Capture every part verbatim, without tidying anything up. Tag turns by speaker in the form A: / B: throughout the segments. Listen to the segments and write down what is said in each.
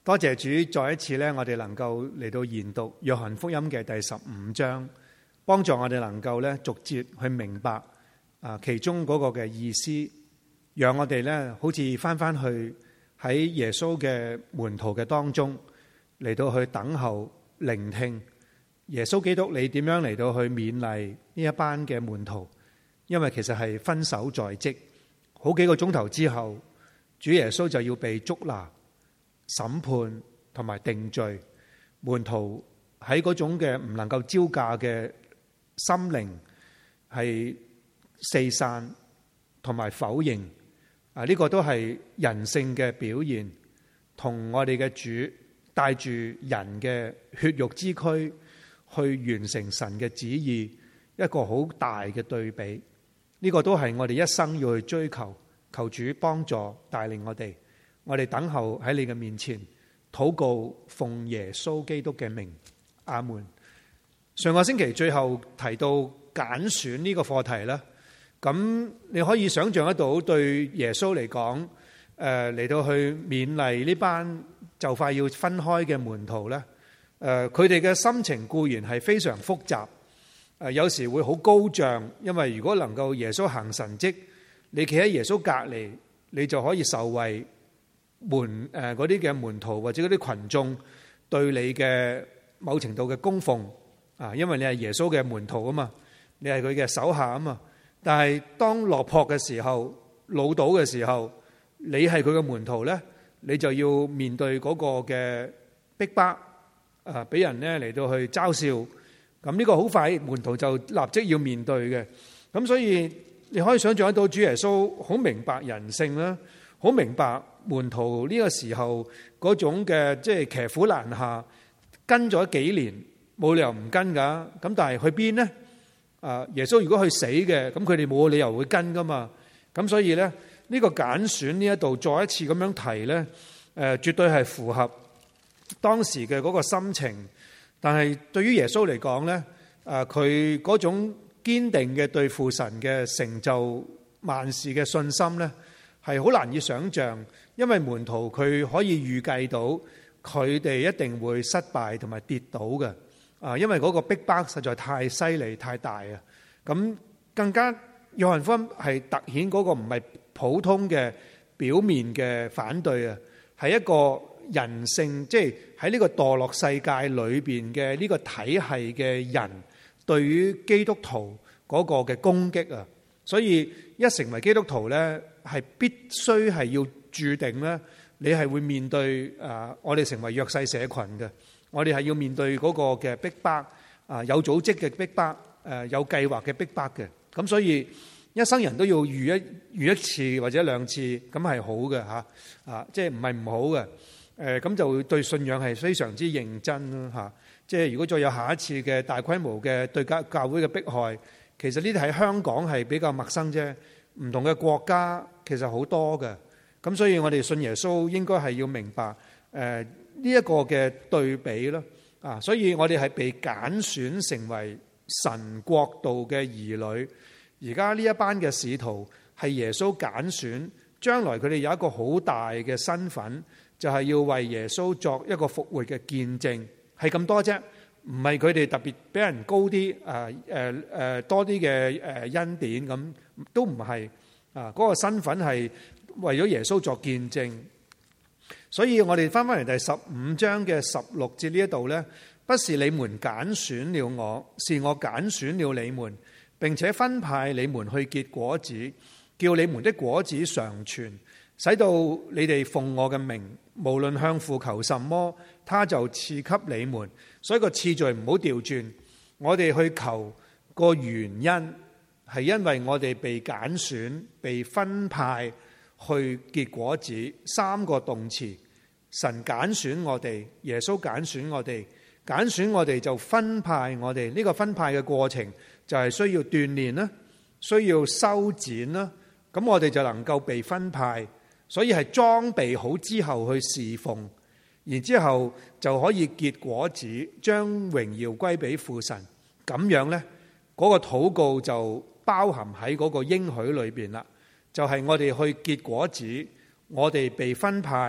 A: 多謝主，再一次咧，我哋能夠嚟到研讀約翰福音嘅第十五章，幫助我哋能夠咧逐節去明白啊其中嗰個嘅意思，讓我哋咧好似翻翻去喺耶穌嘅門徒嘅當中嚟到去等候聆聽耶穌基督你點樣嚟到去勉勵呢一班嘅門徒，因為其實係分手在即，好幾個鐘頭之後，主耶穌就要被捉拿、審判同埋定罪，門徒喺嗰種嘅唔能夠招架嘅心靈係四散同埋否認啊！呢個都係人性嘅表現，同我哋嘅主帶住人嘅血肉之軀去完成神嘅旨意，一個好大嘅對比。呢個都係我哋一生要去追求，求主幫助帶領我哋。我哋等候喺你嘅面前禱告，奉耶穌基督嘅名，阿門。上個星期最後提到揀選呢個課題啦，咁你可以想象得到，對耶穌嚟講，誒嚟到去勉勵呢班就快要分開嘅門徒咧，誒佢哋嘅心情固然係非常複雜，誒有時會好高漲，因為如果能夠耶穌行神蹟，你企喺耶穌隔離，你就可以受惠。門誒嗰啲嘅門徒或者嗰啲群眾對你嘅某程度嘅供奉啊，因為你係耶穌嘅門徒啊嘛，你係佢嘅手下啊嘛。但係當落魄嘅時候、老倒嘅時候，你係佢嘅門徒咧，你就要面對嗰個嘅逼迫啊，俾人咧嚟到去嘲笑。咁呢個好快，門徒就立即要面對嘅。咁所以你可以想象得到，主耶穌好明白人性啦，好明白。門徒呢個時候嗰種嘅即係騎虎難下，跟咗幾年冇理由唔跟噶，咁但係去邊呢？啊，耶穌如果去死嘅，咁佢哋冇理由會跟噶嘛。咁所以咧呢個揀選呢一度再一次咁樣提咧，誒絕對係符合當時嘅嗰個心情。但係對於耶穌嚟講咧，誒佢嗰種堅定嘅對父神嘅成就萬事嘅信心咧，係好難以想象。因為門徒佢可以預計到佢哋一定會失敗同埋跌倒嘅，啊，因為嗰個逼迫實在太犀利太大啊！咁更加約翰福音係凸顯嗰個唔係普通嘅表面嘅反對啊，係一個人性，即係喺呢個墮落世界裏邊嘅呢個體系嘅人對於基督徒嗰個嘅攻擊啊！所以一成為基督徒咧，係必須係要注定咧，你係會面對啊！我哋成為弱勢社群嘅，我哋係要面對嗰個嘅逼迫啊，有組織嘅逼迫，誒有計劃嘅逼迫嘅。咁所以一生人都要遇一遇一次或者兩次，咁係好嘅嚇啊！即係唔係唔好嘅？誒咁就對信仰係非常之認真咯嚇。即係如果再有下一次嘅大規模嘅對教教會嘅迫害，其實呢啲喺香港係比較陌生啫，唔同嘅國家其實好多嘅。咁所以我哋信耶穌應該係要明白誒呢一個嘅對比咯啊！所以我哋係被揀選成為神國度嘅兒女。而家呢一班嘅使徒係耶穌揀選，將來佢哋有一個好大嘅身份，就係要為耶穌作一個復活嘅見證，係咁多啫。唔係佢哋特別俾人高啲誒誒誒多啲嘅誒恩典咁，都唔係啊！嗰個身份係為咗耶穌作見證，所以我哋翻翻嚟第十五章嘅十六節呢一度呢，不是你們揀選了我，是我揀選了你們，並且分派你們去結果子，叫你們的果子常存，使到你哋奉我嘅名，無論向父求什麼，他就賜給你們。所以個次序唔好調轉，我哋去求個原因係因為我哋被揀選、被分派去結果子，三個動詞，神揀選我哋，耶穌揀選我哋，揀選我哋就分派我哋。呢個分派嘅過程就係需要鍛鍊啦，需要修剪啦，咁我哋就能夠被分派。所以係裝備好之後去侍奉，然之後就可以結果子，將榮耀歸俾父神。咁樣呢，嗰個禱告就包含喺嗰個應許裏邊啦。就係我哋去結果子，我哋被分派，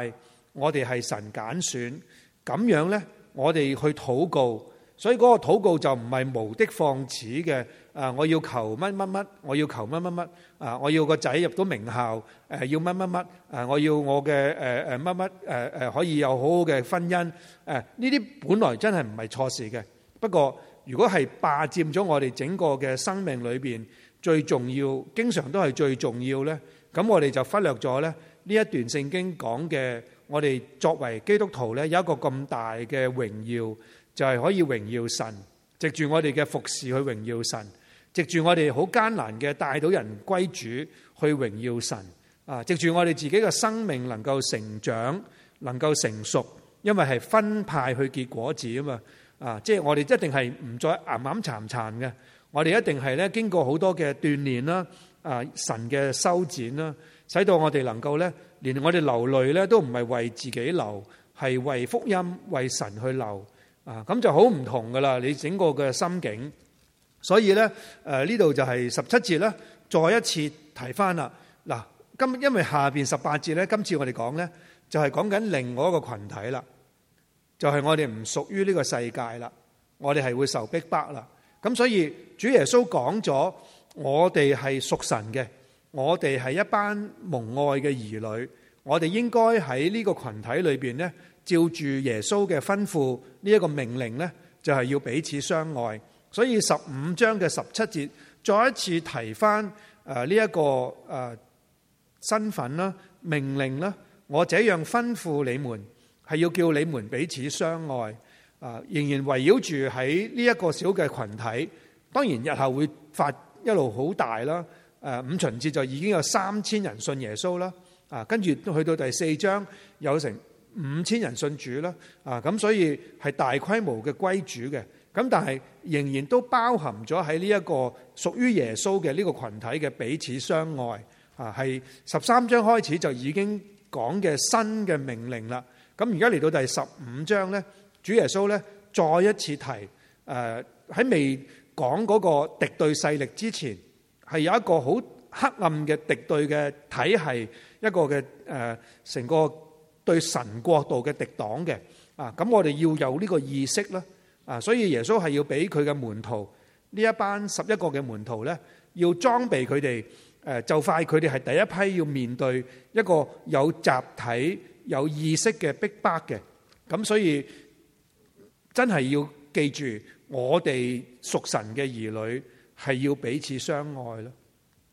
A: 我哋係神揀選，咁樣呢，我哋去禱告。所以嗰個禱告就唔係無的放矢嘅，啊！我要求乜乜乜，我要求乜乜乜，啊！我要個仔入到名校，誒要乜乜乜，啊！我要我嘅誒誒乜乜誒誒可以有好好嘅婚姻，誒呢啲本來真係唔係錯事嘅。不過如果係霸佔咗我哋整個嘅生命裏邊最重要，經常都係最重要咧，咁我哋就忽略咗咧呢一段聖經講嘅，我哋作為基督徒咧有一個咁大嘅榮耀。就係可以榮耀神，藉住我哋嘅服侍去榮耀神，藉住我哋好艱難嘅帶到人歸主去榮耀神啊！藉住我哋自己嘅生命能夠成長，能夠成熟，因為係分派去結果子啊嘛啊！即係我哋一定係唔再岩岩殘殘嘅，我哋一定係咧經過好多嘅鍛鍊啦啊！神嘅修剪啦，使到我哋能夠咧，連我哋流淚咧都唔係為自己流，係為福音為神去流。啊，咁就好唔同噶啦！你整個嘅心境，所以咧，誒呢度就係十七節咧，再一次提翻啦。嗱，今因為下邊十八節咧，今次我哋講咧，就係講緊另外一個群體啦，就係、是、我哋唔屬於呢個世界啦，我哋係會受逼迫啦。咁所以主耶穌講咗，我哋係屬神嘅，我哋係一班蒙愛嘅兒女，我哋應該喺呢個群體裏邊咧。照住耶穌嘅吩咐呢一個命令呢，就係要彼此相愛。所以十五章嘅十七節再一次提翻誒呢一個誒身份啦、命令啦。我這樣吩咐你們，係要叫你們彼此相愛。啊，仍然圍繞住喺呢一個小嘅群體。當然日後會發一路好大啦。誒五旬節就已經有三千人信耶穌啦。啊，跟住去到第四章有成五千人信主啦，啊咁所以係大規模嘅歸主嘅，咁但係仍然都包含咗喺呢一個屬於耶穌嘅呢個群體嘅彼此相愛，啊係十三章開始就已經講嘅新嘅命令啦。咁而家嚟到第十五章咧，主耶穌咧再一次提，誒喺未講嗰個敵對勢力之前，係有一個好黑暗嘅敵對嘅體系，一個嘅誒成個。對神國度嘅敵擋嘅啊，咁我哋要有呢個意識啦啊，所以耶穌係要俾佢嘅門徒呢一班十一個嘅門徒咧，要裝備佢哋誒，就快佢哋係第一批要面對一個有集體有意識嘅逼迫嘅，咁所以真係要記住，我哋屬神嘅兒女係要彼此相愛咯。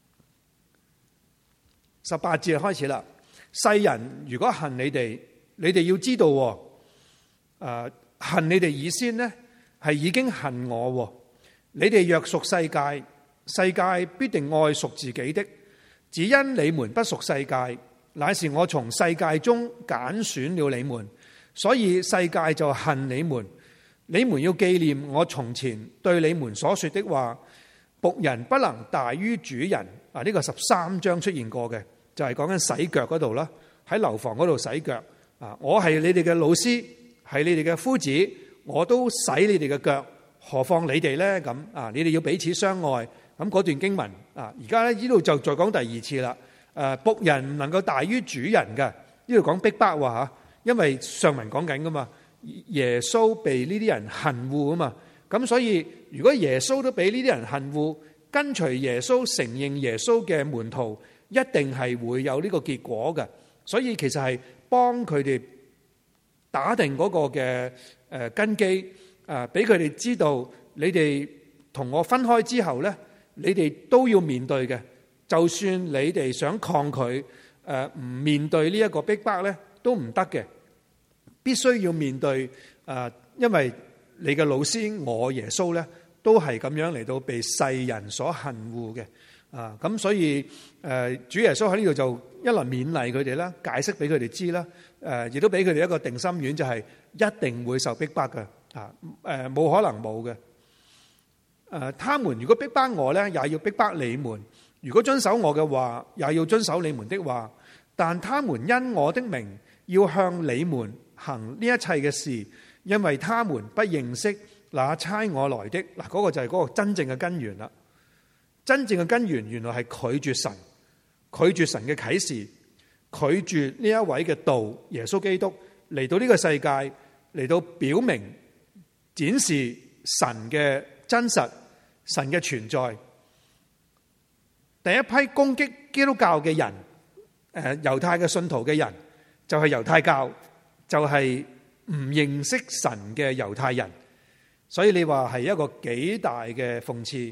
A: 十八節開始啦。世人如果恨你哋，你哋要知道，誒恨你哋以先呢係已經恨我。你哋若屬世界，世界必定愛屬自己的。只因你們不屬世界，乃是我從世界中揀選了你們，所以世界就恨你們。你們要紀念我從前對你們所說的話。僕人不能大於主人。啊，呢個十三章出現過嘅。就係講緊洗腳嗰度啦，喺樓房嗰度洗腳啊！我係你哋嘅老師，係你哋嘅夫子，我都洗你哋嘅腳，何況你哋呢？咁啊，你哋要彼此相愛。咁嗰段經文啊，而家咧呢度就再講第二次啦。誒，僕人唔能夠大於主人嘅，呢度講逼迫喎嚇，因為上文講緊噶嘛，耶穌被呢啲人恨惡啊嘛，咁所以如果耶穌都俾呢啲人恨惡，跟隨耶穌承認耶穌嘅門徒。一定係會有呢個結果嘅，所以其實係幫佢哋打定嗰個嘅誒根基，誒俾佢哋知道，你哋同我分開之後咧，你哋都要面對嘅。就算你哋想抗拒，誒唔面對呢一個逼迫咧，都唔得嘅，必須要面對。誒，因為你嘅老師我耶穌咧，都係咁樣嚟到被世人所恨惡嘅。啊，咁所以誒，主耶穌喺呢度就一來勉勵佢哋啦，解釋俾佢哋知啦，誒，亦都俾佢哋一個定心丸，就係一定會受逼迫嘅，啊，誒，冇可能冇嘅。誒，他們如果逼迫我咧，也要逼迫你們；如果遵守我嘅話，也要遵守你們的話。但他們因我的名要向你們行呢一切嘅事，因為他們不認識那差我來的。嗱，嗰個就係嗰個真正嘅根源啦。真正嘅根源原來係拒絕神，拒絕神嘅啟示， 拒絕呢一位嘅道耶穌基督嚟到呢個世界，嚟到表明展示神嘅真實，神嘅存在。第一批攻擊基督教嘅人，誒猶太嘅信徒嘅人，就係猶太教，就係唔認識神嘅猶太人。所以你話係一個幾大嘅諷刺。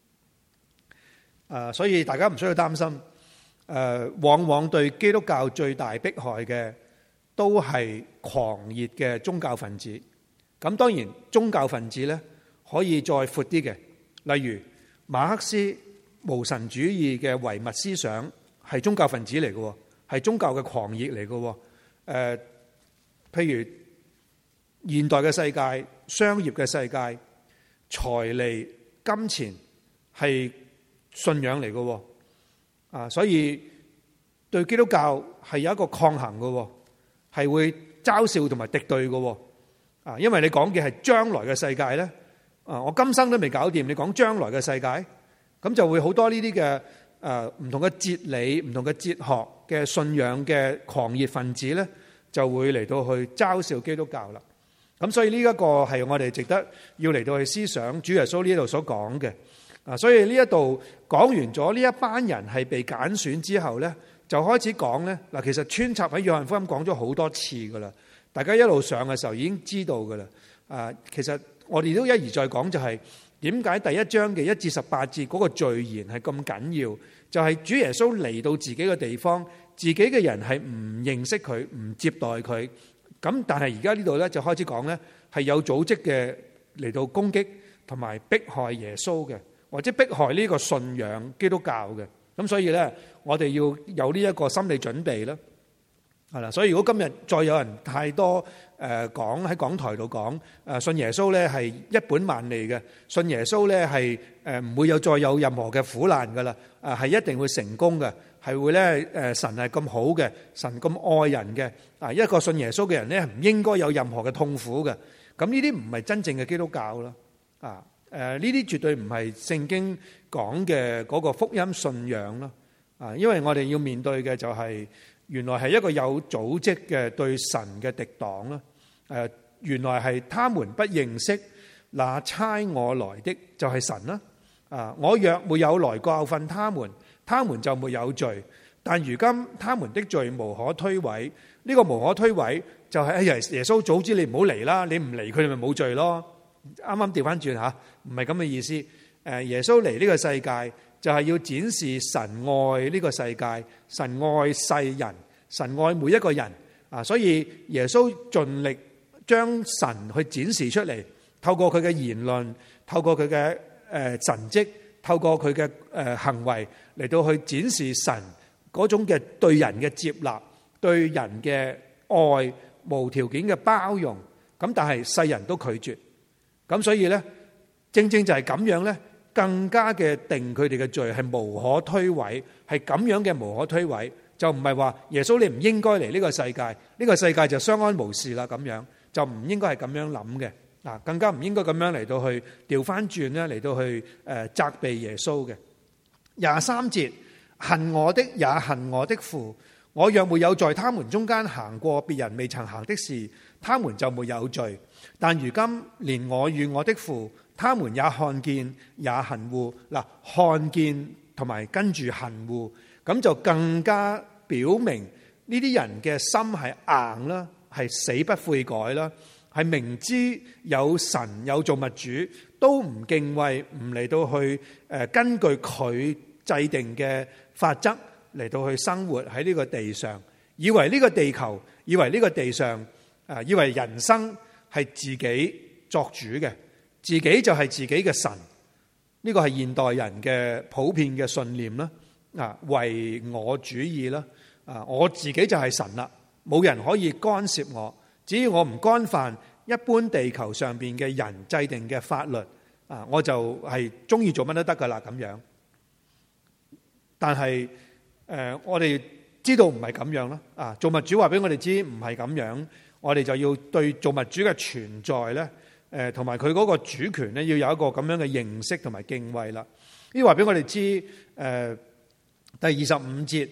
A: 誒，所以大家唔需要擔心。誒，往往對基督教最大迫害嘅都係狂熱嘅宗教分子。咁當然宗教分子咧可以再闊啲嘅，例如馬克思無神主義嘅唯物思想係宗教分子嚟嘅，係宗教嘅狂熱嚟嘅。誒，譬如現代嘅世界、商業嘅世界、財利、金錢係信仰嚟嘅。啊，所以對基督教係有一個抗衡嘅，係會嘲笑同埋敵對嘅。啊，因為你講嘅係將來嘅世界咧，啊，我今生都未搞掂，你講將來嘅世界，咁就會好多呢啲嘅誒唔同嘅哲理、唔同嘅哲學嘅信仰嘅狂熱分子咧，就會嚟到去嘲笑基督教啦。咁所以呢一個係我哋值得要嚟到去思想主耶穌呢度所講嘅。啊，所以呢一度講完咗呢一班人係被揀選之後咧，就開始講咧。嗱，其實穿插喺約翰福音講咗好多次噶啦，大家一路上嘅時候已經知道噶啦。啊，其實我哋都一而再講，就係點解第一章嘅一至十八節嗰個序言係咁緊要？就係主耶穌嚟到自己嘅地方，自己嘅人係唔認識佢，唔接待佢。咁但係而家呢度咧就開始講咧，係有組織嘅嚟到攻擊同埋迫害耶穌嘅。或者迫害呢個信仰基督教嘅，咁所以咧，我哋要有呢一個心理準備啦，係啦。所以如果今日再有人太多誒講喺講台度講誒信耶穌咧係一本萬利嘅，信耶穌咧係誒唔會有再有任何嘅苦難噶啦，誒係一定會成功嘅，係會咧誒神係咁好嘅，神咁愛人嘅，啊一個信耶穌嘅人咧唔應該有任何嘅痛苦嘅，咁呢啲唔係真正嘅基督教啦，啊。誒呢啲絕對唔係聖經講嘅嗰個福音信仰咯，啊，因為我哋要面對嘅就係原來係一個有組織嘅對神嘅敵黨啦。誒，原來係他們不認識那差我來的就係神啦。啊，我若沒有來教訓他們，他們就沒有罪。但如今他們的罪無可推諉，呢、這個無可推諉就係哎呀耶穌早知你唔好嚟啦，你唔嚟佢哋咪冇罪咯。啱啱調翻轉吓，唔係咁嘅意思。誒，耶穌嚟呢個世界就係要展示神愛呢個世界，神愛世人，神愛每一個人啊！所以耶穌盡力將神去展示出嚟，透過佢嘅言論，透過佢嘅誒神蹟，透過佢嘅誒行為嚟到去展示神嗰種嘅對人嘅接納，對人嘅愛，無條件嘅包容。咁但係世人都拒絕。咁所以咧，正正就係咁樣咧，更加嘅定佢哋嘅罪係無可推諉，係咁樣嘅無可推諉，就唔係話耶穌你唔應該嚟呢個世界，呢個世界就相安無事啦，咁樣就唔應該係咁樣諗嘅，啊，更加唔應該咁樣嚟到去調翻轉咧，嚟到去誒責備耶穌嘅。廿三節，恨我的也恨我的父，我若沒有在他們中間行過別人未曾行的事，他們就沒有罪。但如今連我與我的父，他們也看見也恨惡。嗱，看見同埋跟住恨惡，咁就更加表明呢啲人嘅心係硬啦，係死不悔改啦，係明知有神有造物主都唔敬畏，唔嚟到去誒根據佢制定嘅法則嚟到去生活喺呢個地上，以為呢個地球，以為呢個地上，誒以為人生係自己作主嘅，自己就係自己嘅神。呢個係現代人嘅普遍嘅信念啦。啊，唯我主義啦。啊，我自己就係神啦，冇人可以干涉我。只要我唔干犯一般地球上邊嘅人制定嘅法律，啊，我就係中意做乜都得噶啦咁樣。但係誒，我哋知道唔係咁樣啦。啊，造物主話俾我哋知唔係咁樣。我哋就要對造物主嘅存在咧，誒同埋佢嗰個主權咧，要有一個咁樣嘅認識同埋敬畏啦。呢話俾我哋知，誒第二十五節，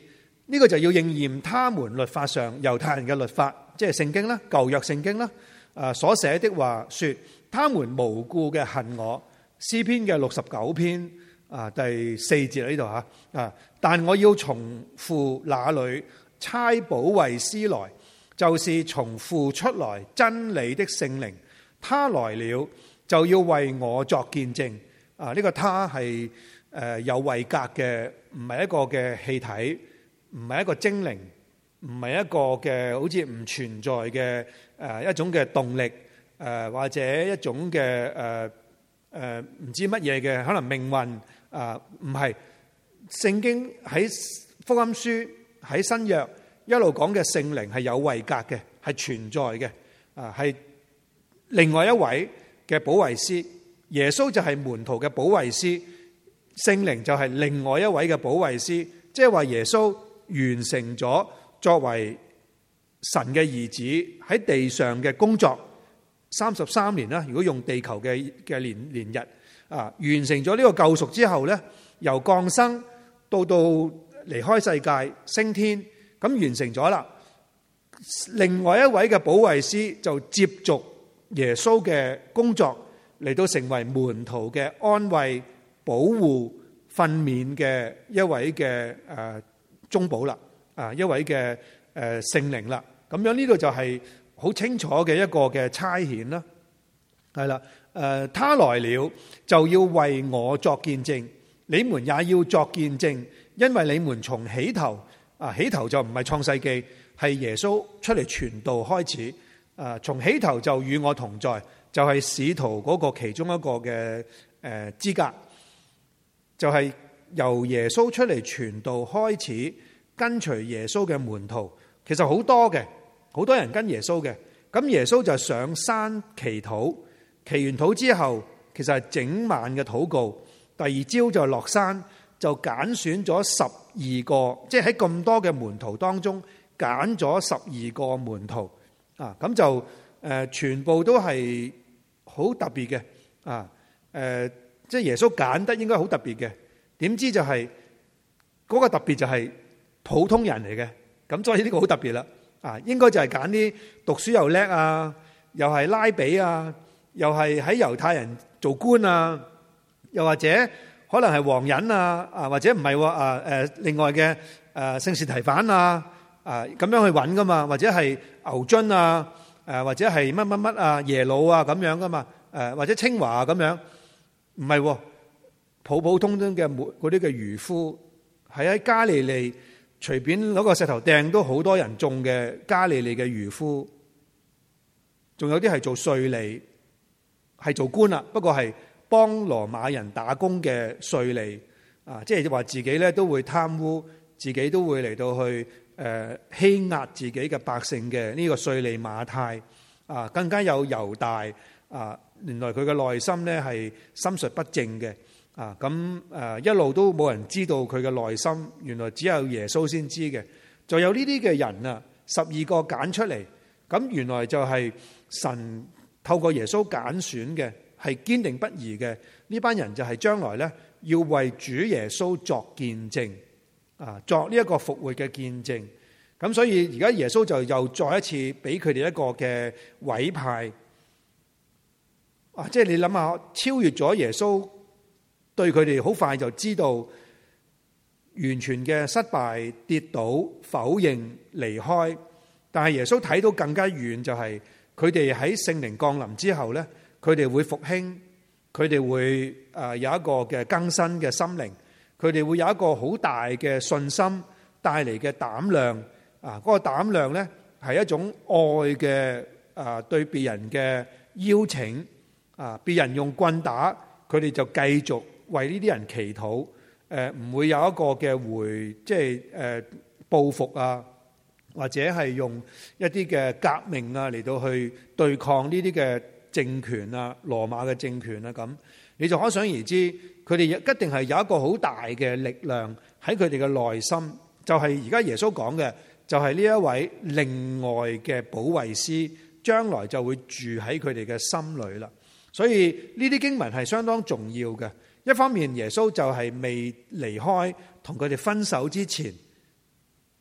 A: 呢個就要應驗他們律法上猶太人嘅律法，即係聖經啦，舊約聖經啦，啊所寫的話說，他們無故嘅恨我。詩篇嘅六十九篇啊第四節喺呢度吓啊，但我要從父那裏差保惠師來，就是從父出來真理的聖靈，他來了就要為我作見證。啊，呢個他係誒有位格嘅，唔係一個嘅氣體，唔係一個精靈，唔係一個嘅好似唔存在嘅誒一種嘅動力誒，或者一種嘅誒誒唔知乜嘢嘅可能命運啊，唔係。聖經喺福音書喺新約一路講嘅聖靈係有位格嘅，係存在嘅啊，係另外一位嘅保惠師。耶穌就係門徒嘅保惠師，聖靈就係另外一位嘅保惠師。即係話耶穌完成咗作為神嘅兒子喺地上嘅工作三十三年啦。如果用地球嘅嘅年年日啊，完成咗呢個救贖之後咧，由降生到到離開世界升天，咁完成咗啦。另外一位嘅保惠師就接續耶穌嘅工作，嚟到成為門徒嘅安慰、保護、訓勉嘅一位嘅誒中保啦，啊一位嘅誒聖靈啦。咁樣呢度就係好清楚嘅一個嘅差遣啦。係啦，誒他來了就要為我作見證，你們也要作見證，因為你們從起頭啊，起頭就唔係創世記，係耶穌出嚟傳道開始，誒從起頭就與我同在。就係使徒嗰個其中一個嘅誒資格，就係由耶穌出嚟傳道開始，跟隨耶穌嘅門徒，其實好多嘅，好多人跟耶穌嘅。咁耶穌就上山祈禱，祈完禱之後，其實係整晚嘅禱告。第二朝就落山，就揀選咗十二個，即係喺咁多嘅門徒當中揀咗十二個門徒啊。咁就誒全部都係好特別嘅啊！誒，即係耶穌揀得應該好特別嘅，點知就係嗰個特別就係普通人嚟嘅，咁所以呢個好特別啦！啊，應該就係揀啲讀書又叻啊，又係拉比啊，又係喺猶太人做官啊，又或者可能係王仁啊，啊或者唔係喎啊誒，另外嘅誒聖士提反啊啊咁樣去揾噶嘛，或者係牛津啊。誒或者係乜乜乜啊耶魯啊咁樣噶嘛，誒或者清華啊咁樣，唔係普普通通嘅嗰啲嘅漁夫，係喺加利利隨便攞個石頭掟都好多人中嘅加利利嘅漁夫，仲有啲係做稅吏，係做官啦，不過係幫羅馬人打工嘅稅吏啊，即係話自己咧都會貪污，自己都會嚟到去。誒欺壓自己嘅百姓嘅呢個稅吏馬太啊，更加有猶大啊，原來佢嘅內心咧係心術不正嘅啊，咁誒一路都冇人知道佢嘅內心，原來只有耶穌先知嘅。就有呢啲嘅人啊，十二個揀出嚟，咁原來就係神透過耶穌揀選嘅，係堅定不移嘅。呢班人就係將來咧要為主耶穌作見證。啊，作呢一個復活嘅見證，咁所以而家耶穌就又再一次俾佢哋一個嘅委派，啊，即係你諗下，超越咗耶穌，對佢哋好快就知道完全嘅失敗、跌倒、否認、離開，但係耶穌睇到更加遠，就係佢哋喺聖靈降臨之後咧，佢哋會復興，佢哋會誒有一個嘅更新嘅心靈。佢哋會有一個好大嘅信心帶嚟嘅膽量啊！嗰個膽量咧係一種愛嘅啊，對別人嘅邀請啊，別人用棍打，佢哋就繼續為呢啲人祈禱。誒，唔會有一個嘅回，即係誒報復啊，或者係用一啲嘅革命啊嚟到去對抗呢啲嘅政權啊，羅馬嘅政權啊咁。你就可想而知，佢哋一定係有一個好大嘅力量喺佢哋嘅內心，就係而家耶穌講嘅，就係呢一位另外嘅保惠師，將來就會住喺佢哋嘅心裏啦。所以呢啲經文係相當重要嘅。一方面耶穌就係未離開同佢哋分手之前，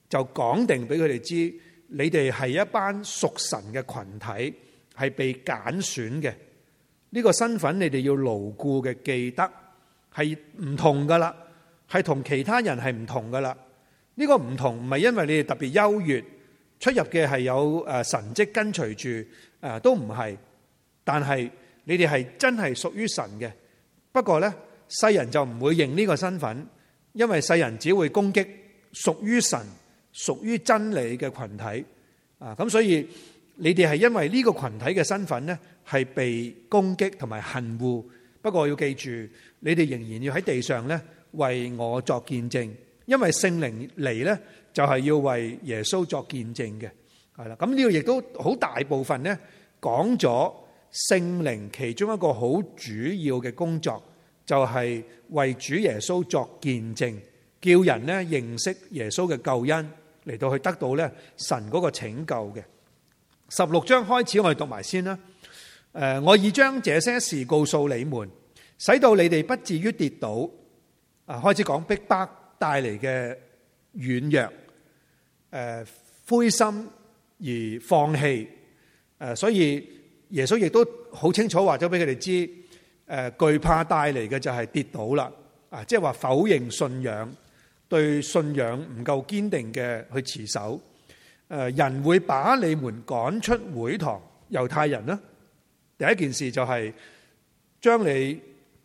A: 就講定俾佢哋知，你哋係一班屬神嘅群體，係被揀選嘅。呢個身份你哋要牢固嘅記得，係唔同噶啦，係同其他人係唔同噶啦。呢個唔同唔係因為你哋特別優越，出入嘅係有誒神蹟跟隨住誒，都唔係。但係你哋係真係屬於神嘅。不過呢，世人就唔會認呢個身份，因為世人只會攻擊屬於神、屬於真理嘅群體啊。咁所以你哋係因為呢個群體嘅身份呢，係被攻擊同埋恨惡。不過要記住，你哋仍然要喺地上呢，為我作見證，因為聖靈嚟呢，就係要為耶穌作見證嘅。係啦，咁呢個亦都好大部分呢，講咗聖靈其中一個好主要嘅工作，就係為主耶穌作見證，叫人呢認識耶穌嘅救恩，嚟到去得到呢神嗰個拯救嘅。十六章開始，我哋讀埋先啦。誒，我已將這些事告訴你們，使到你哋不至於跌倒。啊，開始講逼迫帶嚟嘅軟弱，誒，灰心而放棄。誒，所以耶穌亦都好清楚話咗俾佢哋知，誒，懼怕帶嚟嘅就係跌倒啦。啊，即係話否認信仰，對信仰唔夠堅定嘅去持守。誒，人會把你們趕出會堂，猶太人呢，第一件事就係將你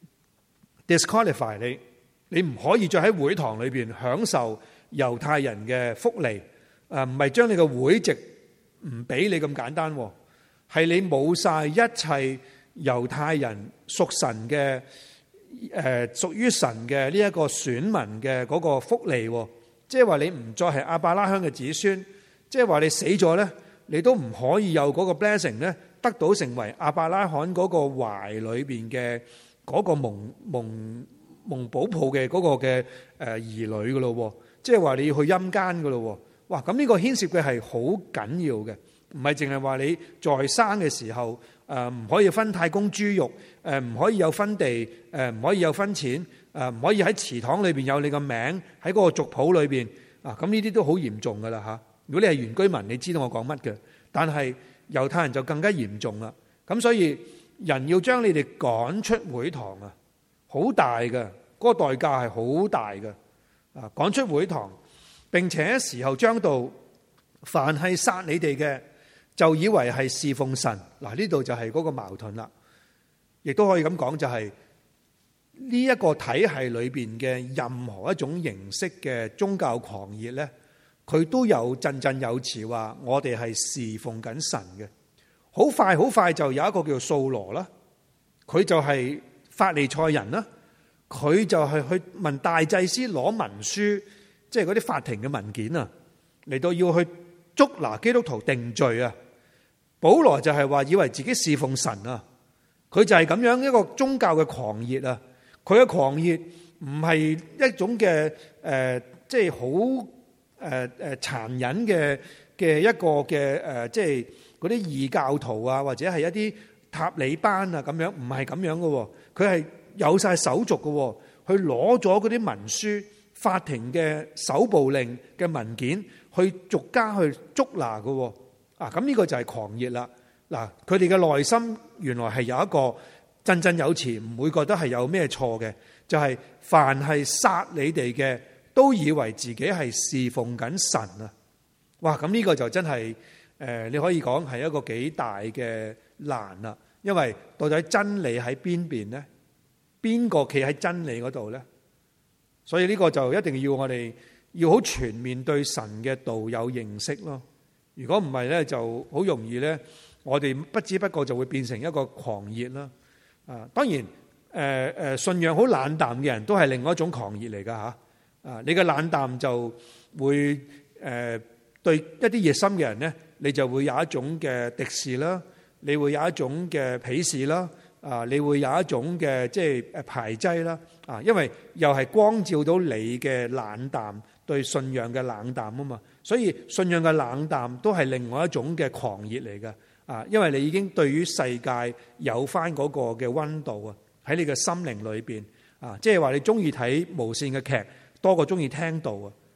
A: disqualify 你，你唔可以再喺會堂裏邊享受猶太人嘅福利。誒，唔係將你嘅會籍唔俾你咁簡單，係你冇晒一切猶太人屬神嘅誒，屬於神嘅呢一個選民嘅嗰個福利。即係話你唔再係亞伯拉罕嘅子孫。即係話你死咗咧，你都唔可以有嗰個 blessing 咧，得到成為亞伯拉罕嗰個懷裏邊嘅嗰個蒙蒙蒙保抱嘅嗰個嘅誒兒女噶咯。即係話你要去陰間噶咯。哇！咁呢個牽涉嘅係好緊要嘅，唔係淨係話你在生嘅時候誒唔可以分太公豬肉，誒唔可以有分地，誒唔可以有分錢，誒唔可以喺祠堂裏邊有你個名喺嗰個族譜裏邊啊。咁呢啲都好嚴重噶啦吓。如果你係原居民，你知道我講乜嘅。但係猶太人就更加嚴重啦。咁所以人要將你哋趕出會堂啊，好大嘅，嗰個代價係好大嘅。啊，趕出會堂，並且時候將到，凡係殺你哋嘅，就以為係侍奉神。嗱，呢度就係嗰個矛盾啦。亦都可以咁講，就係呢一個體系裏邊嘅任何一種形式嘅宗教狂熱咧，佢都有振振有詞話我哋係侍奉緊神嘅。好快好快就有一個叫掃羅啦，佢就係法利賽人啦，佢就係去問大祭司攞文書，即係嗰啲法庭嘅文件啊，嚟到要去捉拿基督徒定罪啊。保羅就係話以為自己侍奉神啊，佢就係咁樣一個宗教嘅狂熱啊。佢嘅狂熱唔係一種嘅誒，即係好。誒誒殘忍嘅嘅一個嘅誒，即係嗰啲異教徒啊，或者係一啲塔利班啊咁樣，唔係咁樣嘅。佢係有晒手續嘅，去攞咗嗰啲文書、法庭嘅搜捕令嘅文件，去逐家去捉拿嘅。啊，咁呢個就係狂熱啦。嗱，佢哋嘅內心原來係有一個振振有詞，唔會覺得係有咩錯嘅，就係凡係殺你哋嘅，都以為自己係侍奉緊神啊！哇，咁呢個就真係誒，你可以講係一個幾大嘅難啦。因為到底真理喺邊邊呢？邊個企喺真理嗰度呢？所以呢個就一定要我哋要好全面對神嘅道有認識咯。如果唔係呢，就好容易呢，我哋不知不覺就會變成一個狂熱啦。啊，當然誒誒，信仰好冷淡嘅人都係另外一種狂熱嚟噶吓。啊！你嘅冷淡就會誒對一啲熱心嘅人呢，你就會有一種嘅敵視啦，你會有一種嘅鄙視啦，啊，你會有一種嘅即係誒排擠啦，啊，因為又係光照到你嘅冷淡，對信仰嘅冷淡啊嘛，所以信仰嘅冷淡都係另外一種嘅狂熱嚟嘅，啊，因為你已經對於世界有翻嗰個嘅溫度啊，喺你嘅心靈裏邊啊，即係話你中意睇無線嘅劇多過中意聽道啊！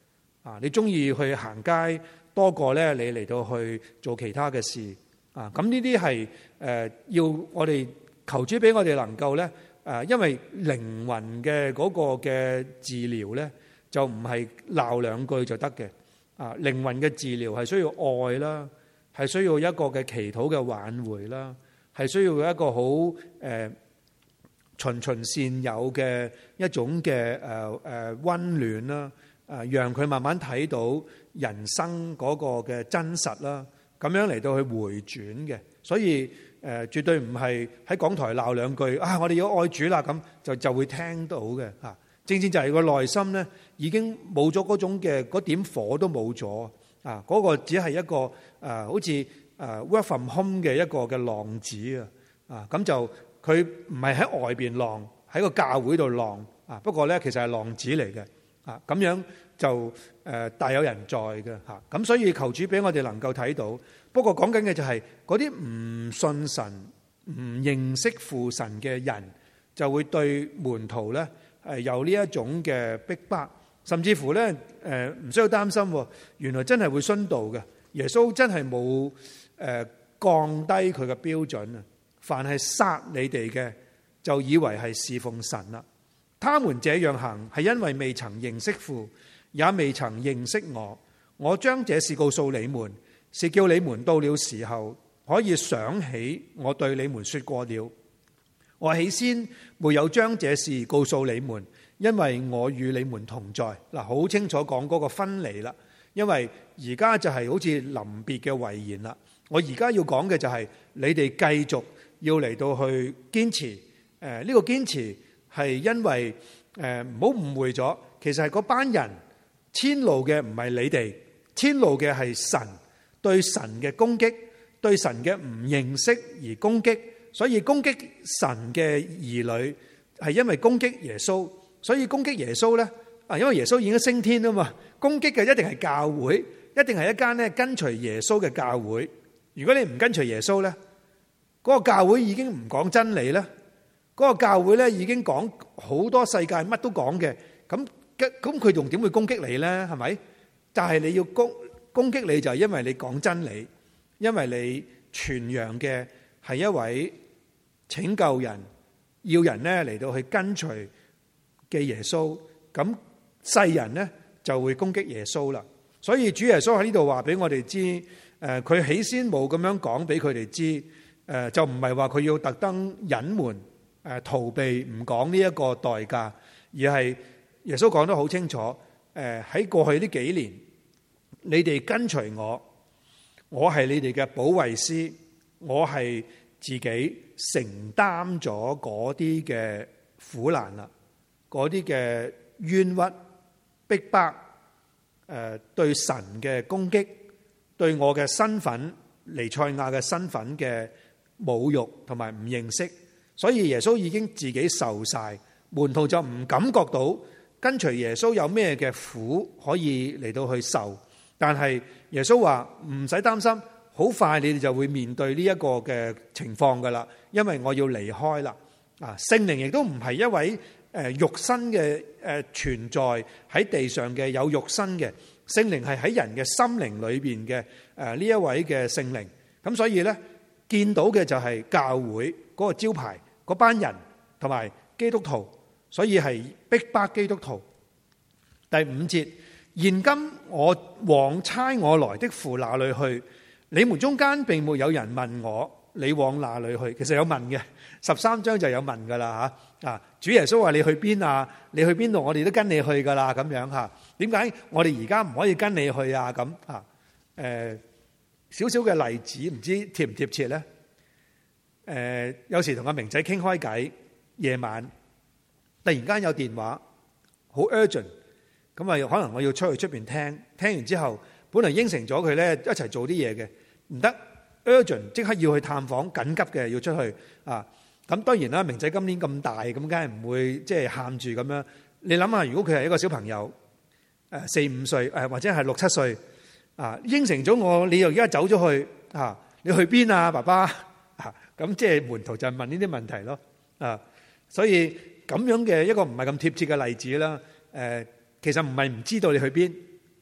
A: 啊，你中意去行街多過咧，你嚟到去做其他嘅事啊。咁呢啲係誒要我哋求主俾我哋能夠咧誒，因為靈魂嘅嗰個嘅治療咧，就唔係鬧兩句就得嘅啊。靈魂嘅治療係需要愛啦，係需要一個嘅祈禱嘅挽回啦，係需要一個好誒、呃、循循善誘嘅一種嘅誒誒溫暖啦。誒，讓佢慢慢睇到人生嗰個嘅真實啦，咁樣嚟到去回轉嘅，所以誒絕對唔係喺講台鬧兩句啊！我哋要愛主啦，咁就就會聽到嘅嚇。正正就係個內心咧，已經冇咗嗰種嘅嗰點火都冇咗啊！嗰個只係一個誒，好似誒 work from home 嘅一個嘅浪子啊！啊，咁就佢唔係喺外邊浪，喺個教會度浪啊！不過咧，其實係浪子嚟嘅。啊，咁樣就誒大有人在嘅嚇，咁所以求主俾我哋能夠睇到。不過講緊嘅就係嗰啲唔信神、唔認識父神嘅人，就會對門徒咧係有呢一種嘅逼迫，甚至乎咧誒唔需要擔心，原來真係會殉道嘅。耶穌真係冇誒降低佢嘅標準啊！凡係殺你哋嘅，就以為係侍奉神啦。他們這樣行，係因為未曾認識父，也未曾認識我。我將這事告訴你們，是叫你們到了時候可以想起我對你們說過了。我起先沒有將這事告訴你們，因為我與你們同在。嗱，好清楚講嗰個分離啦。因為而家就係好似臨別嘅遺言啦。我而家要講嘅就係你哋繼續要嚟到去堅持。誒、呃，呢、這個堅持。係因為誒唔好誤會咗，其實係嗰班人遷怒嘅唔係你哋，遷怒嘅係神，對神嘅攻擊，對神嘅唔認識而攻擊，所以攻擊神嘅兒女係因為攻擊耶穌，所以攻擊耶穌咧啊，因為耶穌已經升天啊嘛，攻擊嘅一定係教會，一定係一間咧跟隨耶穌嘅教會。如果你唔跟隨耶穌咧，嗰個教會已經唔講真理咧。嗰個教會咧已經講好多世界乜都講嘅，咁咁佢仲點會攻擊你咧？係咪？但係你要攻攻擊你就係因為你講真理，因為你傳揚嘅係一位拯救人，要人咧嚟到去跟隨嘅耶穌，咁世人咧就會攻擊耶穌啦。所以主耶穌喺呢度話俾我哋知，誒佢起先冇咁樣講俾佢哋知，誒就唔係話佢要特登隱瞞。誒逃避唔講呢一個代價，而係耶穌講得好清楚。誒喺過去呢幾年，你哋跟隨我，我係你哋嘅保惠師，我係自己承擔咗嗰啲嘅苦難啦，嗰啲嘅冤屈、逼迫，誒對神嘅攻擊，對我嘅身份彌賽亞嘅身份嘅侮辱同埋唔認識。所以耶穌已經自己受晒，門徒就唔感覺到跟隨耶穌有咩嘅苦可以嚟到去受。但係耶穌話唔使擔心，好快你哋就會面對呢一個嘅情況噶啦，因為我要離開啦。啊，聖靈亦都唔係一位誒肉身嘅誒存在喺地上嘅有肉身嘅聖靈，係喺人嘅心靈裏邊嘅誒呢一位嘅聖靈。咁所以呢，見到嘅就係教會嗰個招牌。嗰班人同埋基督徒，所以係逼迫基督徒。第五節，現今我往差我來的父那裏去，你們中間並沒有人問我，你往哪裏去？其實有問嘅，十三章就有問噶啦吓啊！主耶穌話你去邊啊？你去邊度？我哋都跟你去噶啦，咁樣吓。點解我哋而家唔可以跟你去啊？咁啊？誒，少少嘅例子，唔知貼唔貼切咧？誒、呃，有時同阿明仔傾開偈，夜晚突然間有電話，好 urgent，咁啊，可能我要出去出邊聽，聽完之後，本來應承咗佢咧一齊做啲嘢嘅，唔得 urgent，即刻要去探訪，緊急嘅要出去啊！咁當然啦，明仔今年咁大，咁梗係唔會即係喊住咁樣。你諗下，如果佢係一個小朋友，誒四五歲，誒或者係六七歲，啊應承咗我，你又而家走咗去啊？你去邊啊，爸爸？咁即係門徒就問呢啲問題咯，啊，所以咁樣嘅一個唔係咁貼切嘅例子啦。誒，其實唔係唔知道你去邊，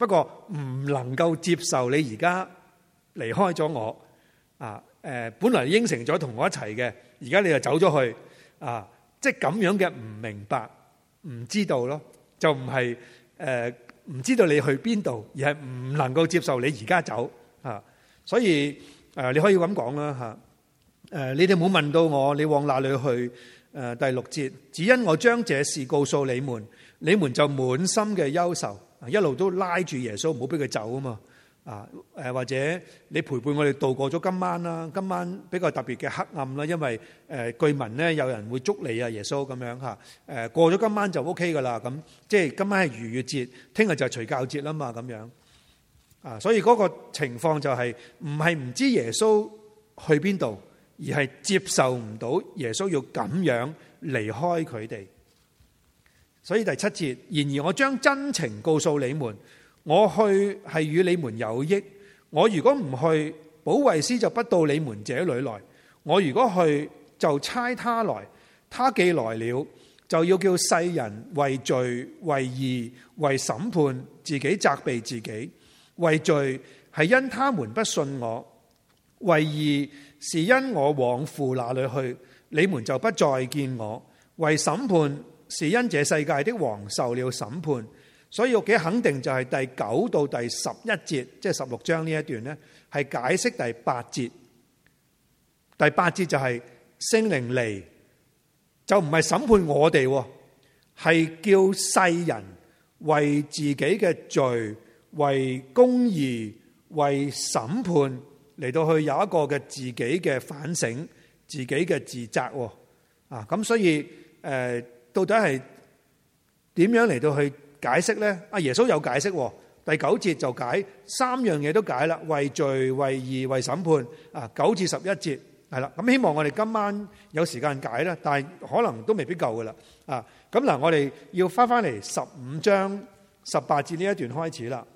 A: 不過唔能夠接受你而家離開咗我啊！誒，本來應承咗同我一齊嘅，而家你就走咗去啊！即係咁樣嘅唔明白、唔知道咯，就唔係誒唔知道你去邊度，而係唔能夠接受你而家走啊！所以誒，你可以咁講啦嚇。誒，你哋冇問到我，你往哪裏去？誒，第六節，只因我將這事告訴你們，你們就滿心嘅憂愁，一路都拉住耶穌，唔好俾佢走啊嘛。啊，誒或者你陪伴我哋度過咗今晚啦，今晚比較特別嘅黑暗啦，因為誒據聞咧有人會捉你啊，耶穌咁樣嚇，誒過咗今晚就 O K 噶啦，咁即係今晚係逾越節，聽日就係除酵節啦嘛，咁樣啊，所以嗰個情況就係唔係唔知耶穌去邊度，而係接受唔到耶穌要咁樣離開佢哋。所以第七節，然而我將真情告訴你們。我去係與你們有益，我如果唔去，保惠師就不到你們這裏來。我如果去，就差他來。他既來了，就要叫世人為罪、為義、為審判，自己責備自己。為罪係因他們不信我，為義是因我往父那裏去，你們就不再見我。為審判是因這世界的王受了審判。所以我幾肯定就係第九到第十一節，即係十六章呢一段呢，係解釋第八節。第八節就係聖靈嚟，就唔係審判我哋，係叫世人為自己嘅罪、為公義、為審判嚟到去有一個嘅自己嘅反省、自己嘅自責。啊，咁所以誒，到底係點樣嚟到去解釋咧？阿耶穌有解釋，第九節就解三樣嘢都解啦，為罪、為義、為審判。啊，九至十一節係啦。咁希望我哋今晚有時間解啦，但係可能都未必夠噶啦。啊，咁嗱，我哋要翻翻嚟十五章十八節呢一段開始啦，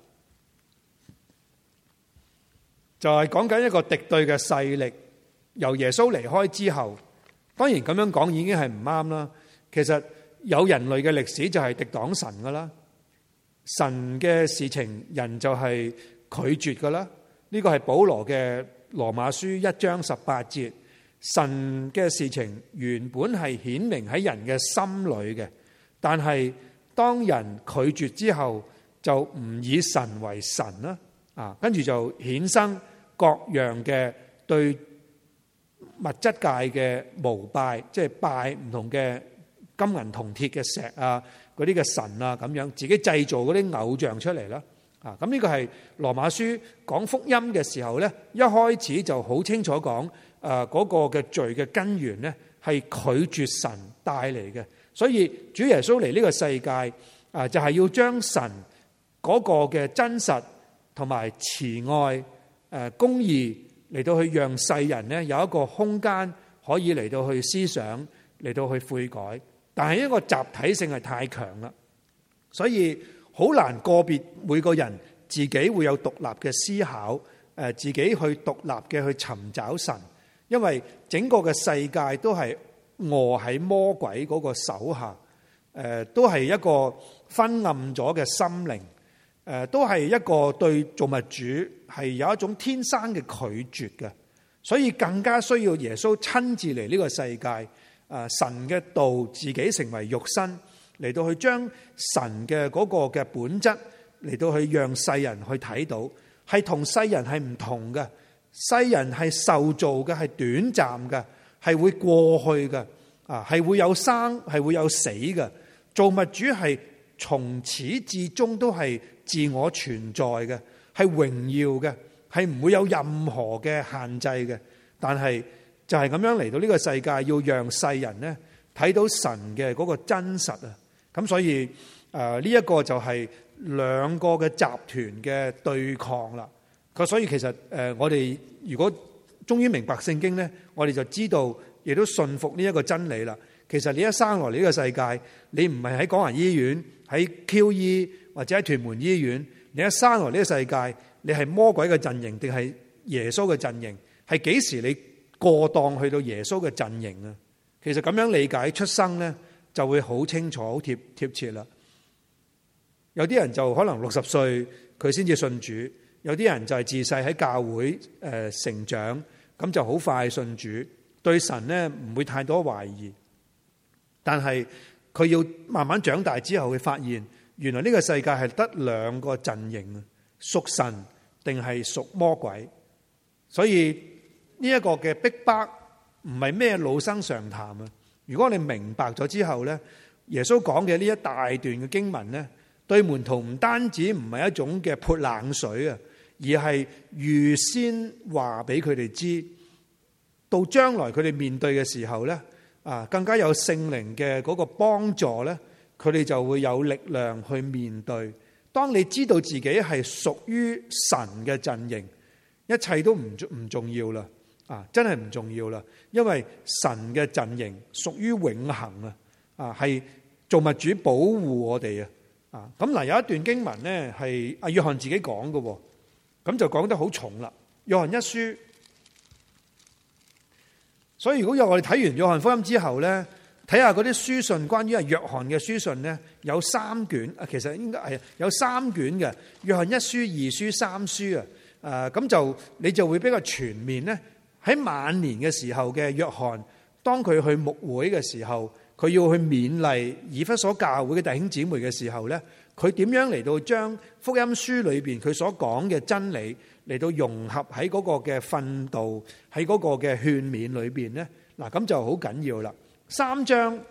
A: 就係講緊一個敵對嘅勢力由耶穌離開之後，當然咁樣講已經係唔啱啦。其實有人類嘅歷史就係敵擋神噶啦，神嘅事情人就係拒絕噶啦。呢個係保羅嘅羅馬書一章十八節，神嘅事情原本係顯明喺人嘅心裏嘅，但係當人拒絕之後，就唔以神為神啦，啊，跟住就衍生各樣嘅對物質界嘅膜拜，即係拜唔同嘅金銀銅鐵嘅石啊，嗰啲嘅神啊，咁樣自己製造嗰啲偶像出嚟啦。啊，咁呢個係羅馬書講福音嘅時候咧，一開始就好清楚講，誒嗰個嘅罪嘅根源咧係拒絕神帶嚟嘅。所以主耶穌嚟呢個世界，啊就係要將神嗰個嘅真實同埋慈愛、誒公義嚟到去讓世人咧有一個空間可以嚟到去思想，嚟到去悔改。但係一個集體性係太強啦，所以好難個別每個人自己會有獨立嘅思考，誒自己去獨立嘅去尋找神，因為整個嘅世界都係臥喺魔鬼嗰個手下，誒都係一個昏暗咗嘅心靈，誒都係一個對造物主係有一種天生嘅拒絕嘅，所以更加需要耶穌親自嚟呢個世界。誒神嘅道自己成為肉身嚟到去將神嘅嗰個嘅本質嚟到去讓世人去睇到，係同世人係唔同嘅。世人係受造嘅，係短暫嘅，係會過去嘅，啊係會有生，係會有死嘅。造物主係從始至終都係自我存在嘅，係榮耀嘅，係唔會有任何嘅限制嘅。但係就係咁樣嚟到呢個世界，要讓世人呢睇到神嘅嗰個真實啊！咁所以誒呢一個就係兩個嘅集團嘅對抗啦。咁所以其實誒我哋如果終於明白聖經呢，我哋就知道亦都信服呢一個真理啦。其實你一生落嚟呢個世界，你唔係喺港人醫院、喺 Q E 或者喺屯門醫院，你一生落嚟呢個世界，你係魔鬼嘅陣營定係耶穌嘅陣營？係幾時你過檔去到耶穌嘅陣營啊？其實咁樣理解出生呢，就會好清楚、好貼貼切啦。有啲人就可能六十歲佢先至信主。有啲人就係自細喺教會誒成長，咁就好快信主，對神呢唔會太多懷疑。但係佢要慢慢長大之後，會發現原來呢個世界係得兩個陣營啊，屬神定係屬魔鬼。所以呢一個嘅逼迫唔係咩老生常談啊！如果你明白咗之後呢，耶穌講嘅呢一大段嘅經文呢，對門徒唔單止唔係一種嘅潑冷水啊，而係預先話俾佢哋知，到將來佢哋面對嘅時候呢，啊更加有聖靈嘅嗰個幫助呢，佢哋就會有力量去面對。當你知道自己係屬於神嘅陣營，一切都唔唔重要啦，啊真係唔重要啦，因為神嘅陣營屬於永恆啊，啊係造物主保護我哋啊，啊咁嗱有一段經文呢係阿約翰自己講嘅，咁就講得好重啦。約翰一書，所以如果有我哋睇完約翰福音之後呢，睇下嗰啲書信，關於阿約翰嘅書信呢，有三卷啊，其實應該係有三卷嘅，約翰一書、二書、三書啊。誒咁就你就會比較全面咧。喺晚年嘅時候嘅約翰，當佢去牧會嘅時候，佢要去勉勵以弗所教會嘅弟兄姊妹嘅時候咧，佢點樣嚟到將福音書裏邊佢所講嘅真理嚟到融合喺嗰個嘅訓導，喺嗰個嘅勸勉裏邊咧？嗱，咁就好緊要啦。三章誒、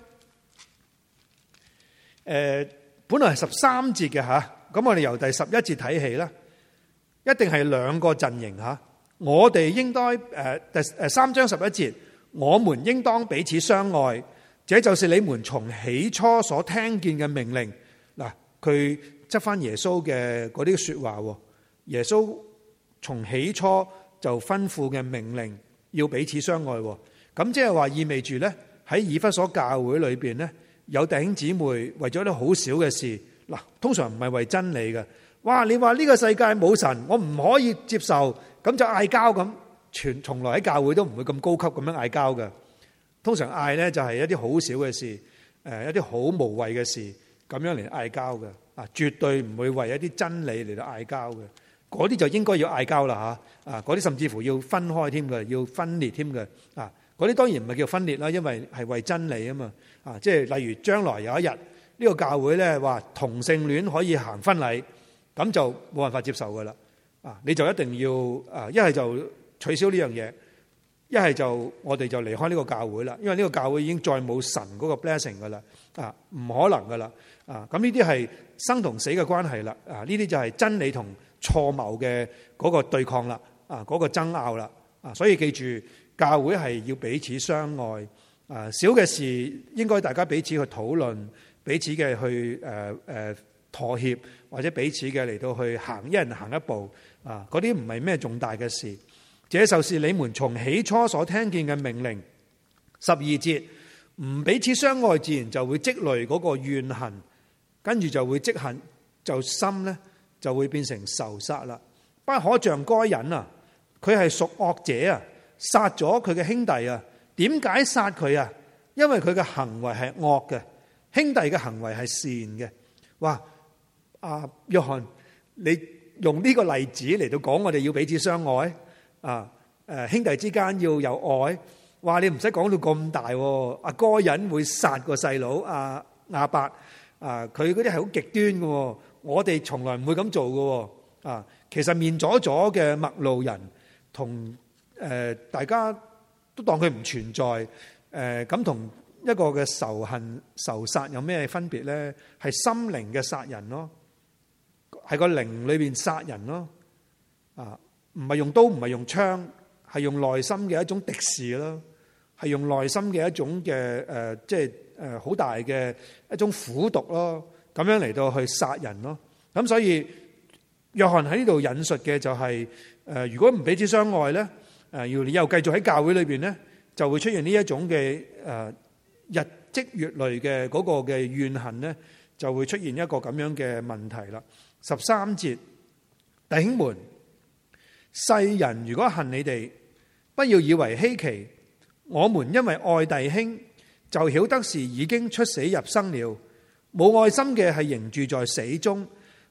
A: 呃，本來係十三節嘅嚇，咁我哋由第十一節睇起啦。一定係兩個陣營吓，我哋應該誒第誒三章十一節，我們應當彼此相愛，這就是你們從起初所聽見嘅命令。嗱，佢執翻耶穌嘅嗰啲說話，耶穌從起初就吩咐嘅命令要彼此相愛，咁即係話意味住咧，喺以弗所教會裏邊咧，有弟兄姊妹為咗啲好少嘅事，嗱，通常唔係為真理嘅。哇！你話呢個世界冇神，我唔可以接受，咁就嗌交咁。全從來喺教會都唔會咁高級咁樣嗌交嘅。通常嗌呢就係一啲好少嘅事，誒一啲好無謂嘅事咁樣嚟嗌交嘅。啊，絕對唔會為一啲真理嚟到嗌交嘅。嗰啲就應該要嗌交啦嚇。啊，嗰啲甚至乎要分開添嘅，要分裂添嘅。啊，嗰啲當然唔係叫分裂啦，因為係為真理啊嘛。啊，即係例如將來有一日呢個教會呢話同性戀可以行婚禮。咁就冇辦法接受噶啦，啊！你就一定要啊，一係就取消呢樣嘢，一係就我哋就離開呢個教會啦，因為呢個教會已經再冇神嗰個 blessing 噶啦，啊，唔可能噶啦，啊！咁呢啲係生同死嘅關係啦，啊！呢啲就係真理同錯謬嘅嗰個對抗啦，啊，嗰個爭拗啦，啊！所以記住，教會係要彼此相愛，啊，小嘅事應該大家彼此去討論，彼此嘅去誒誒。呃妥協或者彼此嘅嚟到去行，一人行一步啊！嗰啲唔係咩重大嘅事。這就是你們從起初所聽見嘅命令。十二節，唔彼此相愛，自然就會積累嗰個怨恨，跟住就會積恨，就心呢就會變成仇殺啦。不可像該人啊，佢係屬惡者啊，殺咗佢嘅兄弟啊。點解殺佢啊？因為佢嘅行為係惡嘅，兄弟嘅行為係善嘅。哇！啊，約翰，你用呢個例子嚟到講我哋要彼此相愛啊！誒，兄弟之間要有愛。哇！你唔使講到咁大喎。阿該隱會殺個細佬阿亞伯啊，佢嗰啲係好極端嘅。我哋從來唔會咁做嘅。啊，其實面阻阻嘅陌路人同誒大家都當佢唔存在誒，咁同一個嘅仇恨仇殺有咩分別咧？係心靈嘅殺人咯。係個靈裏邊殺人咯，啊，唔係用刀，唔係用槍，係用內心嘅一種敵視咯，係用內心嘅一種嘅誒，即係誒好大嘅一種苦毒咯，咁樣嚟到去殺人咯。咁所以約翰喺呢度引述嘅就係誒，如果唔彼此相愛咧，誒，要你又繼續喺教會裏邊咧，就會出現呢一種嘅誒日積月累嘅嗰個嘅怨恨咧，就會出現一個咁樣嘅問題啦。十三節，弟兄們，世人如果恨你哋，不要以為稀奇。我們因為愛弟兄，就曉得是已經出死入生了。冇愛心嘅係仍住在死中。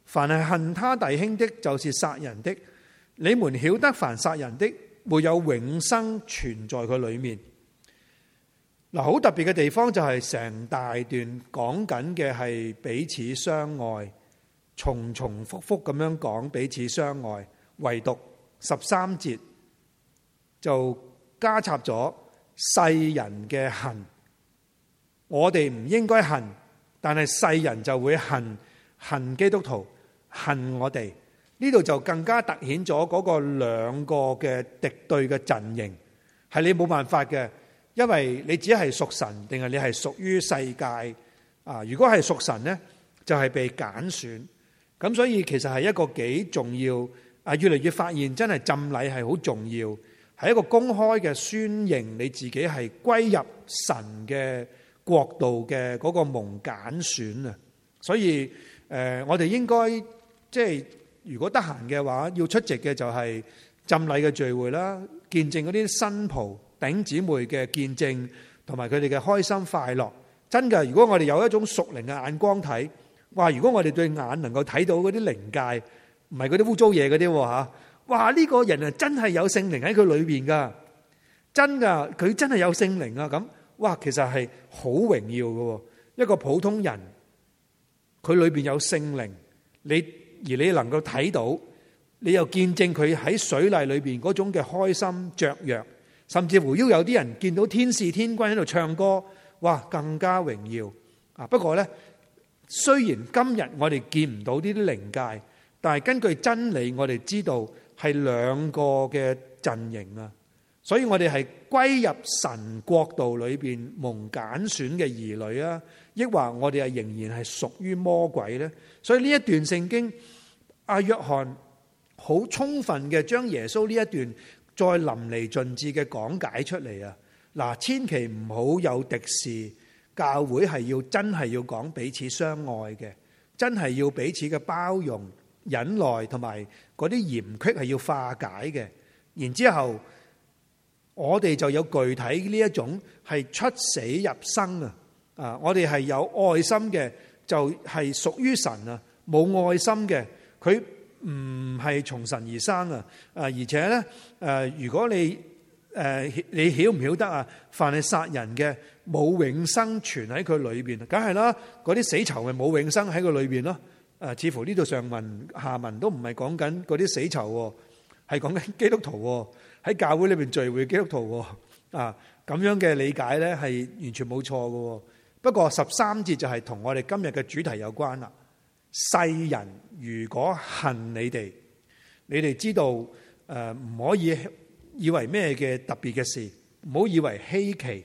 A: 凡係恨他弟兄的，就是殺人的。你們曉得，凡殺人的，沒有永生存在佢裏面。嗱，好特別嘅地方就係成大段講緊嘅係彼此相愛，重重複複咁樣講彼此相愛，唯獨十三節就加插咗世人嘅恨。我哋唔應該恨，但係世人就會恨，恨基督徒，恨我哋。呢度就更加突顯咗嗰個兩個嘅敵對嘅陣營，係你冇辦法嘅，因為你只係屬神，定係你係屬於世界啊？如果係屬神呢，就係被揀選。咁所以其實係一個幾重要啊！越嚟越發現真係浸禮係好重要，係一個公開嘅宣認你自己係歸入神嘅國度嘅嗰個蒙揀選啊！所以誒，我哋應該即係。如果得閒嘅話，要出席嘅就係浸禮嘅聚會啦，見證嗰啲新袍弟兄姊妹嘅見證，同埋佢哋嘅開心快樂。真嘅，如果我哋有一種屬靈嘅眼光睇，哇！如果我哋對眼能夠睇到嗰啲靈界，唔係嗰啲污糟嘢嗰啲吓，哇！呢個人啊真係有聖靈喺佢裏邊噶，真噶，佢真係有聖靈啊！咁，哇，其實係好榮耀嘅，一個普通人，佢裏邊有聖靈，你。而你能夠睇到，你又見證佢喺水禮裏邊嗰種嘅開心雀躍，甚至乎要有啲人見到天使天軍喺度唱歌，哇，更加榮耀啊！不過呢，雖然今日我哋見唔到呢啲靈界，但係根據真理，我哋知道係兩個嘅陣營啊，所以我哋係歸入神國度裏邊蒙揀選嘅兒女啊，抑或我哋係仍然係屬於魔鬼呢？所以呢一段聖經，阿約翰好充分嘅將耶穌呢一段再淋漓盡致嘅講解出嚟啊！嗱，千祈唔好有敵視，教會係要真係要講彼此相愛嘅，真係要彼此嘅包容、忍耐同埋嗰啲嫌隙係要化解嘅。然之後，我哋就有具體呢一種係出死入生啊！啊，我哋係有愛心嘅。就係屬於神啊，冇愛心嘅，佢唔係從神而生啊！啊，而且咧，誒，如果你誒你曉唔曉得啊？凡係殺人嘅，冇永生存喺佢裏邊，梗係啦，嗰啲死囚咪冇永生喺佢裏邊咯。誒，似乎呢度上文下文都唔係講緊嗰啲死囚，係講緊基督徒喺教會裏邊聚會基督徒啊，咁樣嘅理解咧係完全冇錯嘅。不過十三節就係同我哋今日嘅主題有關啦。世人如果恨你哋，你哋知道誒，唔可以以為咩嘅特別嘅事，唔好以為稀奇。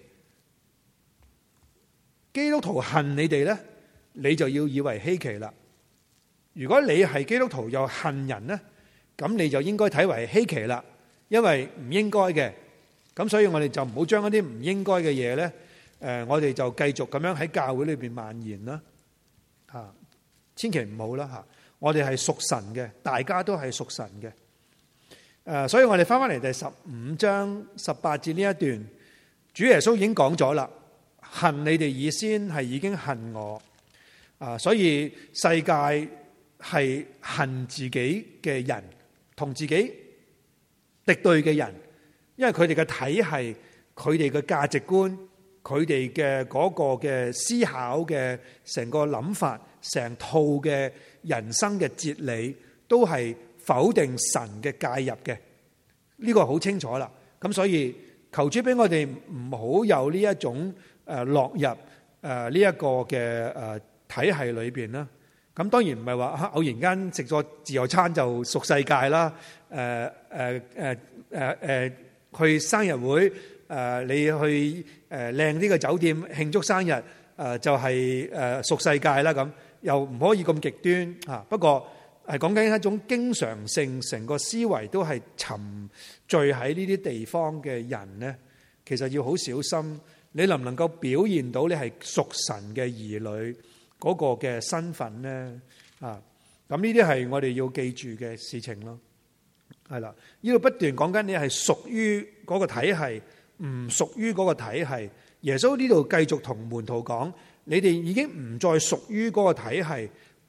A: 基督徒恨你哋咧，你就要以為稀奇啦。如果你係基督徒又恨人咧，咁你就應該睇為稀奇啦，因為唔應該嘅。咁所以我哋就唔好將一啲唔應該嘅嘢咧。誒，我哋就繼續咁樣喺教會裏邊蔓延啦，嚇，千祈唔好啦嚇。我哋係屬神嘅，大家都係屬神嘅。誒，所以我哋翻翻嚟第十五章十八節呢一段，主耶穌已經講咗啦，恨你哋以先係已經恨我。啊，所以世界係恨自己嘅人，同自己敵對嘅人，因為佢哋嘅體系，佢哋嘅價值觀。佢哋嘅嗰個嘅思考嘅成個諗法，成套嘅人生嘅哲理，都係否定神嘅介入嘅。呢個好清楚啦。咁所以求主俾我哋唔好有呢一種誒落入誒呢一個嘅誒體系裏邊啦。咁當然唔係話偶然間食咗自助餐就屬世界啦。誒誒誒誒誒去生日會。誒，你去誒靚啲嘅酒店慶祝生日，誒就係誒屬世界啦。咁又唔可以咁極端嚇。不過係講緊一種經常性，成個思維都係沉醉喺呢啲地方嘅人咧，其實要好小心。你能唔能夠表現到你係屬神嘅兒女嗰個嘅身份咧？啊，咁呢啲係我哋要記住嘅事情咯。係啦，呢度不斷講緊你係屬於嗰個體系。唔屬於嗰個體系，耶穌呢度繼續同門徒講：你哋已經唔再屬於嗰個體系，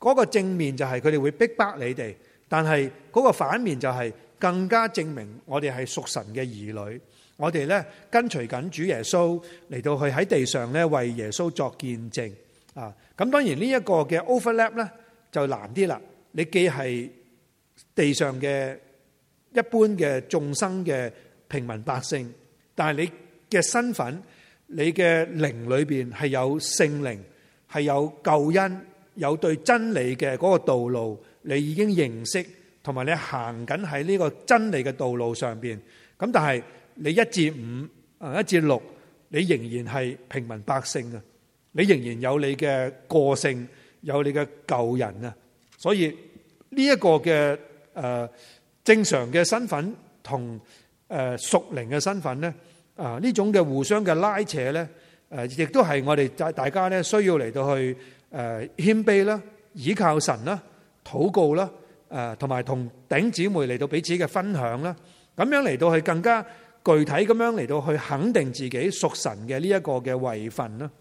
A: 嗰個正面就係佢哋會逼迫你哋，但係嗰個反面就係更加證明我哋係屬神嘅兒女。我哋咧跟隨緊主耶穌嚟到去喺地上咧為耶穌作見證啊！咁當然呢一個嘅 overlap 咧就難啲啦。你既係地上嘅一般嘅眾生嘅平民百姓，但係你嘅身份、你嘅靈裏邊係有聖靈，係有救恩，有對真理嘅嗰個道路，你已經認識，同埋你行緊喺呢個真理嘅道路上邊。咁但係你一至五啊，一至六，你仍然係平民百姓啊，你仍然有你嘅個性，有你嘅舊人啊，所以呢一個嘅誒正常嘅身份同誒屬靈嘅身份咧，啊呢種嘅互相嘅拉扯咧，誒亦都係我哋大大家咧需要嚟到去誒謙卑啦，倚靠神啦，禱告啦，誒同埋同弟兄姊妹嚟到彼此嘅分享啦，咁樣嚟到去更加具體咁樣嚟到去肯定自己屬神嘅呢一個嘅位份啦，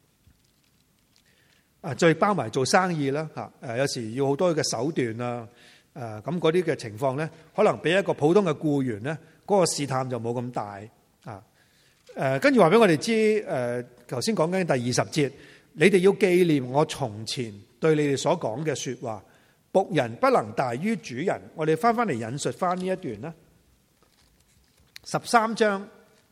A: 啊，再包埋做生意啦，吓，誒，有時要好多嘅手段啊，誒，咁嗰啲嘅情況咧，可能比一個普通嘅僱員咧，嗰個試探就冇咁大，啊，誒，跟住話俾我哋知，誒，頭先講緊第二十節，你哋要紀念我從前對你哋所講嘅說話，僕人不能大於主人。我哋翻翻嚟引述翻呢一段啦。十三章，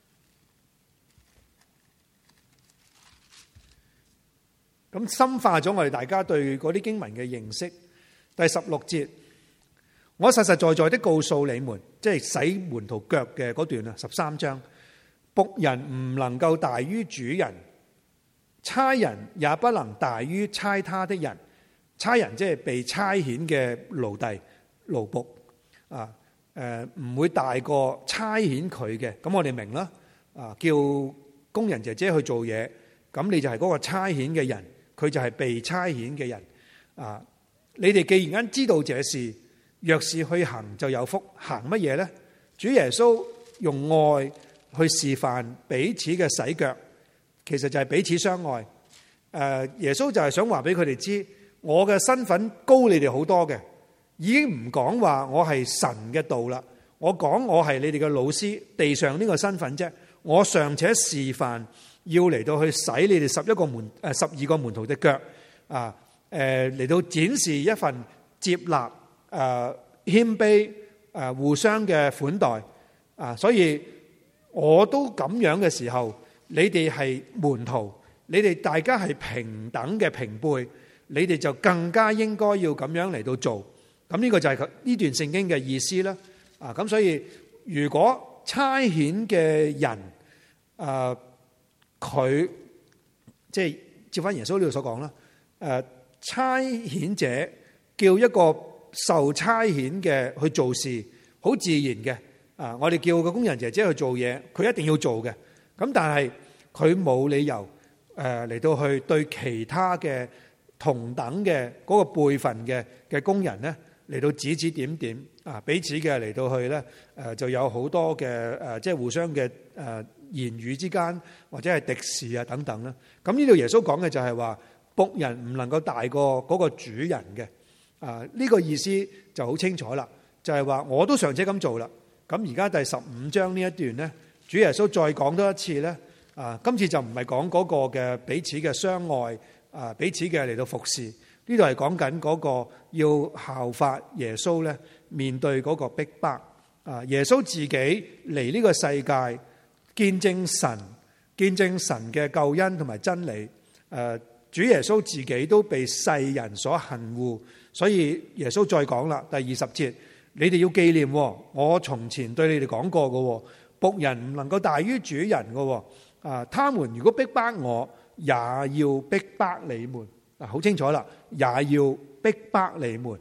A: 咁深化咗我哋大家對嗰啲經文嘅認識。第十六節，我實實在在的告訴你們，即係洗門徒腳嘅嗰段啊。十三章，僕人唔能夠大於主人，差人也不能大於差他的人。差人即係被差遣嘅奴隸奴僕啊。誒，唔會大過差遣佢嘅，咁我哋明啦。啊，叫工人姐姐去做嘢，咁你就係嗰個差遣嘅人，佢就係被差遣嘅人。啊，你哋既然知道這事，若是去行就有福。行乜嘢呢？主耶穌用愛去示範彼此嘅洗腳，其實就係彼此相愛。誒，耶穌就係想話俾佢哋知，我嘅身份高你哋好多嘅。已經唔講話我係神嘅道啦，我講我係你哋嘅老師，地上呢個身份啫。我尚且示範要嚟到去洗你哋十一個門誒十二個門徒嘅腳啊，誒嚟到展示一份接納誒謙卑誒互相嘅款待啊，所以我都咁樣嘅時候，你哋係門徒，你哋大家係平等嘅平輩，你哋就更加應該要咁樣嚟到做。咁呢個就係呢段聖經嘅意思啦。啊，咁所以如果差遣嘅人，誒佢即係照翻耶穌呢度所講啦。誒差遣者叫一個受差遣嘅去做事，好自然嘅。啊，我哋叫個工人姐姐去做嘢，佢一定要做嘅。咁但係佢冇理由誒嚟到去對其他嘅同等嘅嗰個輩份嘅嘅工人咧，嚟到指指點點啊，彼此嘅嚟到去咧，誒就有好多嘅誒，即係互相嘅誒言語之間，或者係敵視啊等等啦。咁呢度耶穌講嘅就係話，僕人唔能夠大過嗰個主人嘅啊。呢個意思就好清楚啦，就係話我都尚且咁做啦。咁而家第十五章呢一段咧，主耶穌再講多一次咧啊，今次就唔係講嗰個嘅彼此嘅相愛啊，彼此嘅嚟到服侍。呢度係講緊嗰個要效法耶穌咧，面對嗰個逼迫啊！耶穌自己嚟呢個世界見證神，見證神嘅救恩同埋真理。誒，主耶穌自己都被世人所恨惡，所以耶穌再講啦，第二十節，你哋要紀念，我從前對你哋講過嘅，僕人唔能夠大於主人嘅。啊，他們如果逼迫我，也要逼迫你們。嗱，好清楚啦，也要逼迫你們。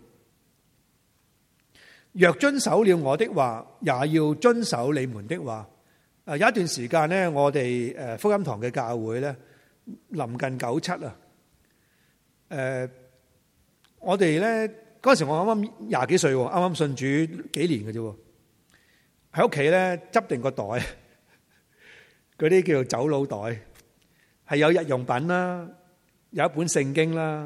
A: 若遵守了我的話，也要遵守你們的話。誒，有一段時間咧，我哋誒福音堂嘅教會咧，臨近九七啊。誒，我哋咧嗰陣時我啱啱廿幾歲，啱啱信主幾年嘅啫，喺屋企咧執定個袋，嗰啲叫做走佬袋，係有日用品啦。有一本聖經啦，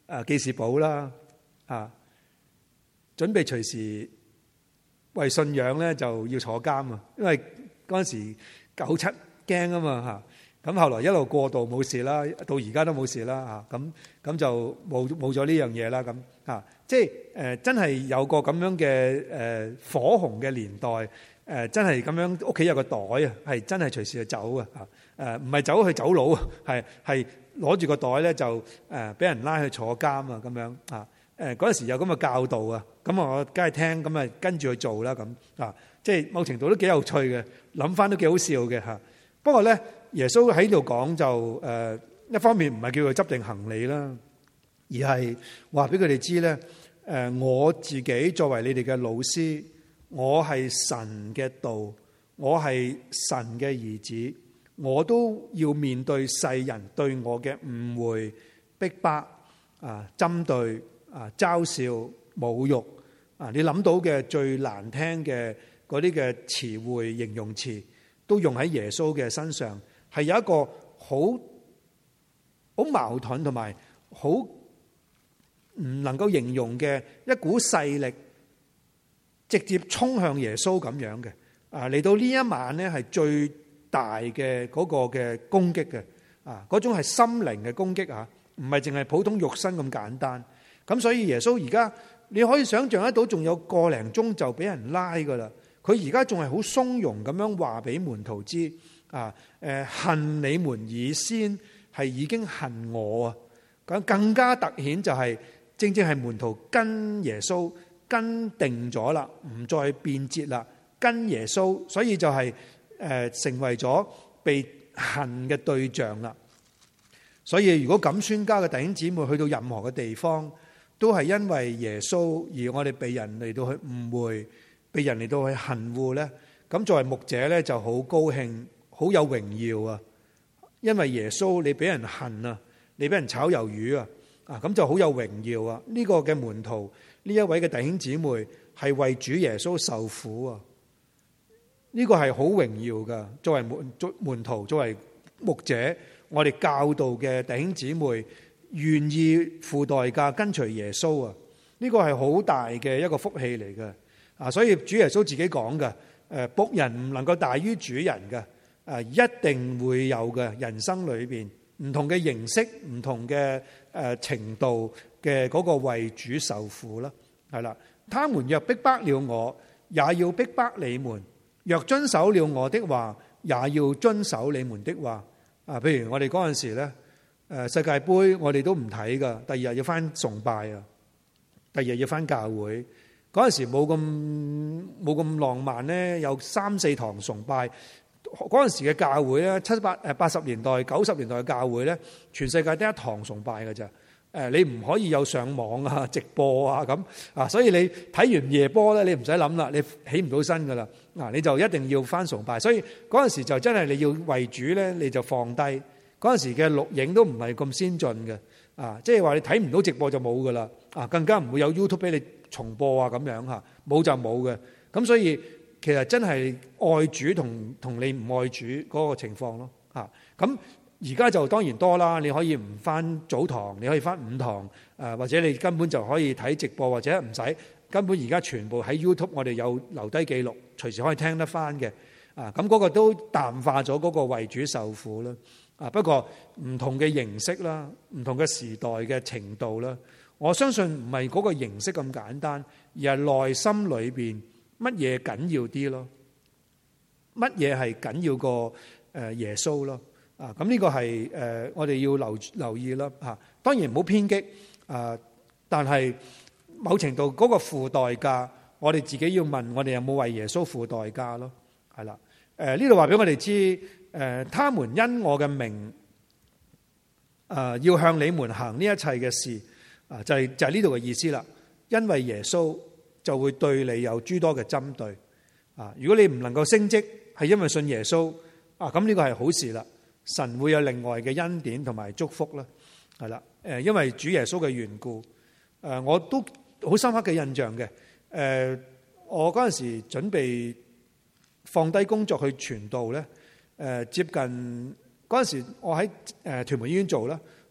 A: 誒記事簿啦，啊，準備隨時為信仰咧就要坐監啊，因為嗰陣時九七驚啊嘛嚇，咁後來一路過渡冇事啦，到而家都冇事啦嚇，咁咁就冇冇咗呢樣嘢啦咁嚇，即係誒真係有個咁樣嘅誒火紅嘅年代，誒真係咁樣屋企有個袋啊，係真係隨時去走啊嚇，誒唔係走去走佬啊，係係攞住個袋咧就誒俾人拉去坐監啊咁樣啊，誒嗰陣時有咁嘅教導啊，咁我梗係聽，咁啊跟住去做啦咁啊，即係某程度都幾有趣嘅，諗翻都幾好笑嘅嚇。不過咧，耶穌喺度講就誒一方面唔係叫佢執定行李啦，而係話俾佢哋知咧，誒我自己作為你哋嘅老師，我係神嘅道，我係神嘅兒子，我都要面對世人對我嘅誤會、逼迫啊、針對啊、嘲笑、侮辱啊，你諗到嘅最難聽嘅嗰啲嘅詞彙、形容詞，都用喺耶穌嘅身上，係有一個好好矛盾同埋好唔能夠形容嘅一股勢力，直接衝向耶穌咁樣嘅啊！嚟到呢一晚呢，係最大嘅嗰個嘅攻擊嘅啊！嗰種係心靈嘅攻擊啊，唔係淨係普通肉身咁簡單。咁所以耶穌而家你可以想象得到，仲有個零鐘就俾人拉噶啦。佢而家仲係好鬆容咁樣話俾門徒知啊！誒，恨你們以先係已經恨我啊！咁更加突顯就係正正係門徒跟耶穌跟定咗啦，唔再變節啦，跟耶穌，所以就係誒成為咗被恨嘅對象啦。所以如果咁宣教嘅弟兄姊妹去到任何嘅地方，都係因為耶穌而我哋被人嚟到去誤會，被人嚟到去恨惡咧，咁作為牧者咧就好高興，好有榮耀啊！因為耶穌你俾人恨啊，你俾人炒魷魚啊，啊咁就好有榮耀啊！呢個嘅門徒，呢一位嘅弟兄姊妹係為主耶穌受苦啊！呢個係好榮耀噶。作為門門徒，作為牧者，我哋教導嘅弟兄姊妹願意付代價跟隨耶穌啊！呢個係好大嘅一個福氣嚟嘅。啊，所以主耶穌自己講嘅，誒僕人唔能夠大於主人嘅，誒一定會有嘅人生裏邊唔同嘅形式、唔同嘅誒程度嘅嗰個為主受苦啦，係啦。他們若逼迫了我，也要逼迫你們；若遵守了我的話，也要遵守你們的話。啊，譬如我哋嗰陣時咧，誒世界盃我哋都唔睇噶，第二日要翻崇拜啊，第二日要翻教會。嗰陣時冇咁冇咁浪漫咧，有三四堂崇拜。嗰陣時嘅教會咧，七八誒八十年代、九十年代嘅教會咧，全世界得一堂崇拜嘅咋。誒，你唔可以有上網啊、直播啊咁啊，所以你睇完夜波咧，你唔使諗啦，你起唔到身噶啦。嗱，你就一定要翻崇拜。所以嗰陣時就真係你要為主咧，你就放低。嗰陣時嘅錄影都唔係咁先進嘅啊，即係話你睇唔到直播就冇噶啦啊，更加唔會有 YouTube 俾你重播啊咁樣嚇，冇就冇嘅。咁所以其實真係愛主同同你唔愛主嗰個情況咯嚇。咁而家就當然多啦，你可以唔翻早堂，你可以翻午堂，誒或者你根本就可以睇直播，或者唔使根本而家全部喺 YouTube 我哋有留低記錄，隨時可以聽得翻嘅啊。咁嗰個都淡化咗嗰個為主受苦啦啊。不過唔同嘅形式啦，唔同嘅時代嘅程度啦。我相信唔係嗰個形式咁簡單，而係內心裏邊乜嘢緊要啲咯？乜嘢係緊要過誒耶穌咯？啊，咁呢個係誒我哋要留留意啦嚇。當然唔好偏激啊，但係某程度嗰個付代價，我哋自己要問我哋有冇為耶穌付代價咯？係啦，誒呢度話俾我哋知，誒他們因我嘅名啊，要向你們行呢一切嘅事。啊，就係就係呢度嘅意思啦。因為耶穌就會對你有諸多嘅針對啊。如果你唔能夠升職，係因為信耶穌啊，咁呢個係好事啦。神會有另外嘅恩典同埋祝福啦，係啦。誒，因為主耶穌嘅緣故，誒，我都好深刻嘅印象嘅。誒，我嗰陣時準備放低工作去傳道咧，誒，接近嗰陣時我喺誒屯門醫院做啦。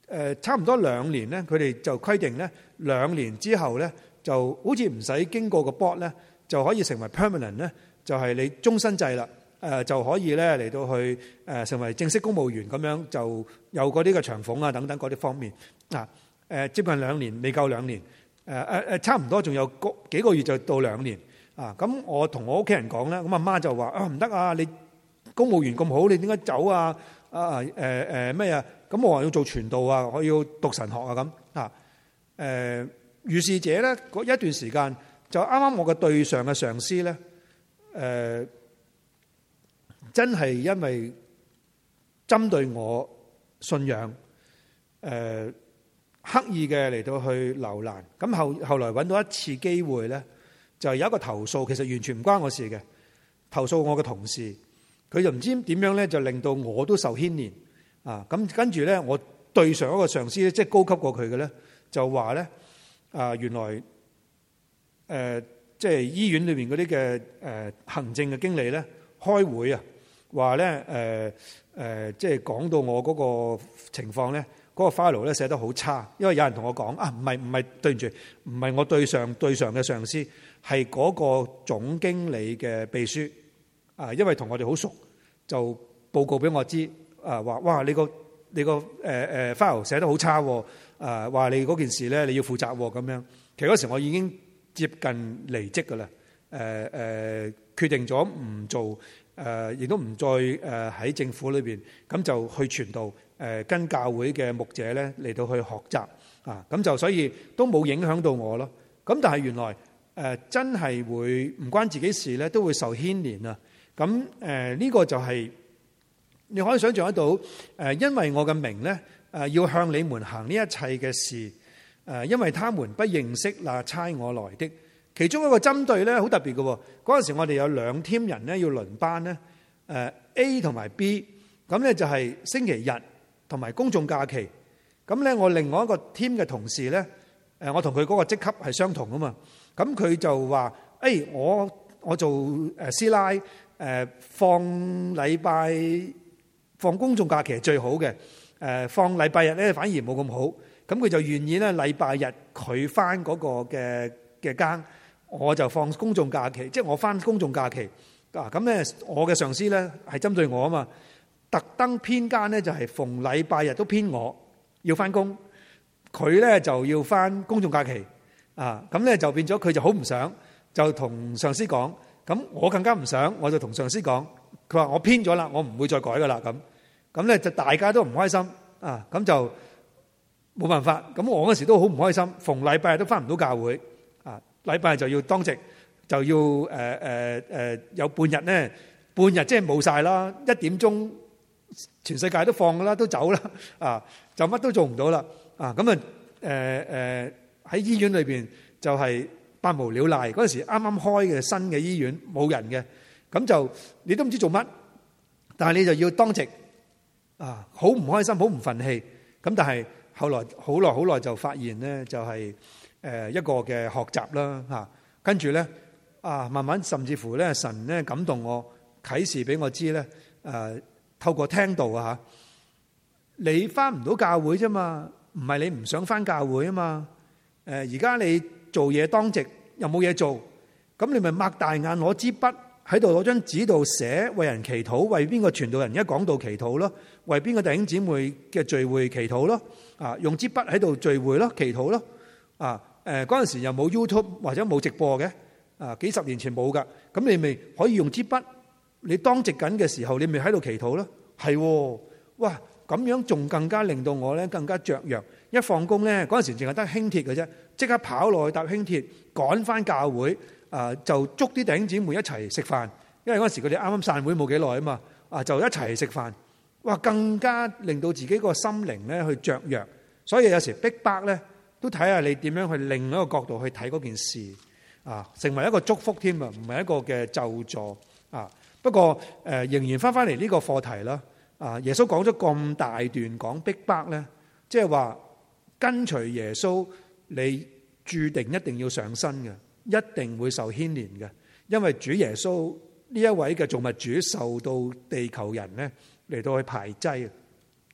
A: 誒差唔多兩年咧，佢哋就規定咧兩年之後咧就好似唔使經過個 board 咧就可以成為 permanent 咧，就係你終身制啦。誒就可以咧嚟到去誒成為正式公務員咁樣，就有嗰啲嘅長俸啊等等嗰啲方面啊。誒接近兩年，未夠兩年，誒誒誒差唔多仲有個幾個月就到兩年啊。咁我同我屋企人講咧，咁阿媽就話啊唔得啊，你公務員咁好，你點解走啊？啊誒誒咩啊？咁我話要做傳道啊，我要讀神學啊咁啊。誒於是者咧嗰一段時間就啱啱我嘅對上嘅上司咧誒。真係因為針對我信仰，誒刻意嘅嚟到去留難，咁後後來揾到一次機會咧，就有一個投訴，其實完全唔關我事嘅，投訴我嘅同事，佢就唔知點樣咧，就令到我都受牽連啊！咁跟住咧，我對上一個上司咧，即係高級過佢嘅咧，就話咧啊，原來誒、呃、即係醫院裏邊嗰啲嘅誒行政嘅經理咧開會啊。話咧誒誒，即係講到我嗰個情況咧，嗰、嗰個 file 咧寫得好差，因為有人同我講啊，唔係唔係對唔住，唔係我對上對上嘅上司，係嗰個總經理嘅秘書啊，因為同我哋好熟，就報告俾我知啊，話哇你個你個誒誒 file 寫得好差喎，啊話你嗰件事咧你要負責咁樣。其實嗰時我已經接近離職㗎啦，誒誒決定咗唔做。誒，亦都唔再誒喺政府裏邊，咁就去傳道，誒跟教會嘅牧者咧嚟到去學習啊，咁就所以都冇影響到我咯。咁但係原來誒真係會唔關自己事咧，都會受牽連啊。咁誒呢個就係你可以想象得到，誒因為我嘅名咧，誒要向你們行呢一切嘅事，誒因為他們不認識那差我來的。其中一個針對咧好特別嘅，嗰陣時我哋有兩 team 人咧要輪班咧，誒 A 同埋 B，咁咧就係星期日同埋公眾假期。咁咧我另外一個 team 嘅同事咧，誒我同佢嗰個職級係相同啊嘛，咁佢就話：誒我我做誒師奶，誒放禮拜放公眾假期係最好嘅，誒放禮拜日咧反而冇咁好。咁佢就願意咧禮拜日佢返嗰個嘅嘅更。我就放公眾假期，即係我翻公眾假期啊！咁咧，我嘅上司咧係針對我啊嘛，特登編更咧就係逢禮拜日都編我要翻工，佢咧就要翻公眾假期啊！咁咧就變咗佢就好唔想，就同上司講。咁我更加唔想，我就同上司講，佢話我編咗啦，我唔會再改噶啦咁。咁咧就大家都唔開心啊！咁就冇辦法。咁我嗰時都好唔開心，逢禮拜日都翻唔到教會。禮拜就要當值，就要誒誒誒有半日咧，半日即係冇晒啦。一點鐘全世界都放噶啦，都走啦啊，就乜都做唔到啦啊！咁啊誒誒喺醫院裏邊就係百無聊賴。嗰陣時啱啱開嘅新嘅醫院冇人嘅，咁就你都唔知做乜，但係你就要當值啊，好唔開心，好唔憤氣。咁但係後來好耐好耐就發現咧，就係。誒一個嘅學習啦嚇，跟住咧啊，慢慢甚至乎咧，神咧感動我，啟示俾我知咧，誒透過聽道啊嚇，你翻唔到教會啫嘛，唔係你唔想翻教會啊嘛，誒而家你做嘢當值又冇嘢做，咁你咪擘大眼攞支筆喺度攞張紙度寫，為人祈禱，為邊個傳道人一講道祈禱咯，為邊個弟兄姊妹嘅聚會祈禱咯，啊用支筆喺度聚會咯，祈禱咯，啊。誒嗰陣時又冇 YouTube 或者冇直播嘅，啊幾十年前冇噶，咁你咪可以用支筆，你當值緊嘅時候，你咪喺度祈禱咯，係，哇咁樣仲更加令到我咧更加雀躍。一放工咧嗰陣時淨係得輕鐵嘅啫，即刻跑落去搭輕鐵趕翻教會，啊就捉啲弟兄姊妹一齊食飯，因為嗰陣時佢哋啱啱散會冇幾耐啊嘛，啊就一齊食飯，哇更加令到自己個心靈咧去雀躍，所以有時逼迫咧。都睇下你點樣去另一個角度去睇嗰件事啊，成為一個祝福添啊，唔係一個嘅咒詛啊。不過誒、呃，仍然翻翻嚟呢個課題啦。啊，耶穌講咗咁大段講逼迫咧，即係話跟隨耶穌，你注定一定要上身嘅，一定會受牽連嘅，因為主耶穌呢一位嘅造物主受到地球人咧嚟到去排擠。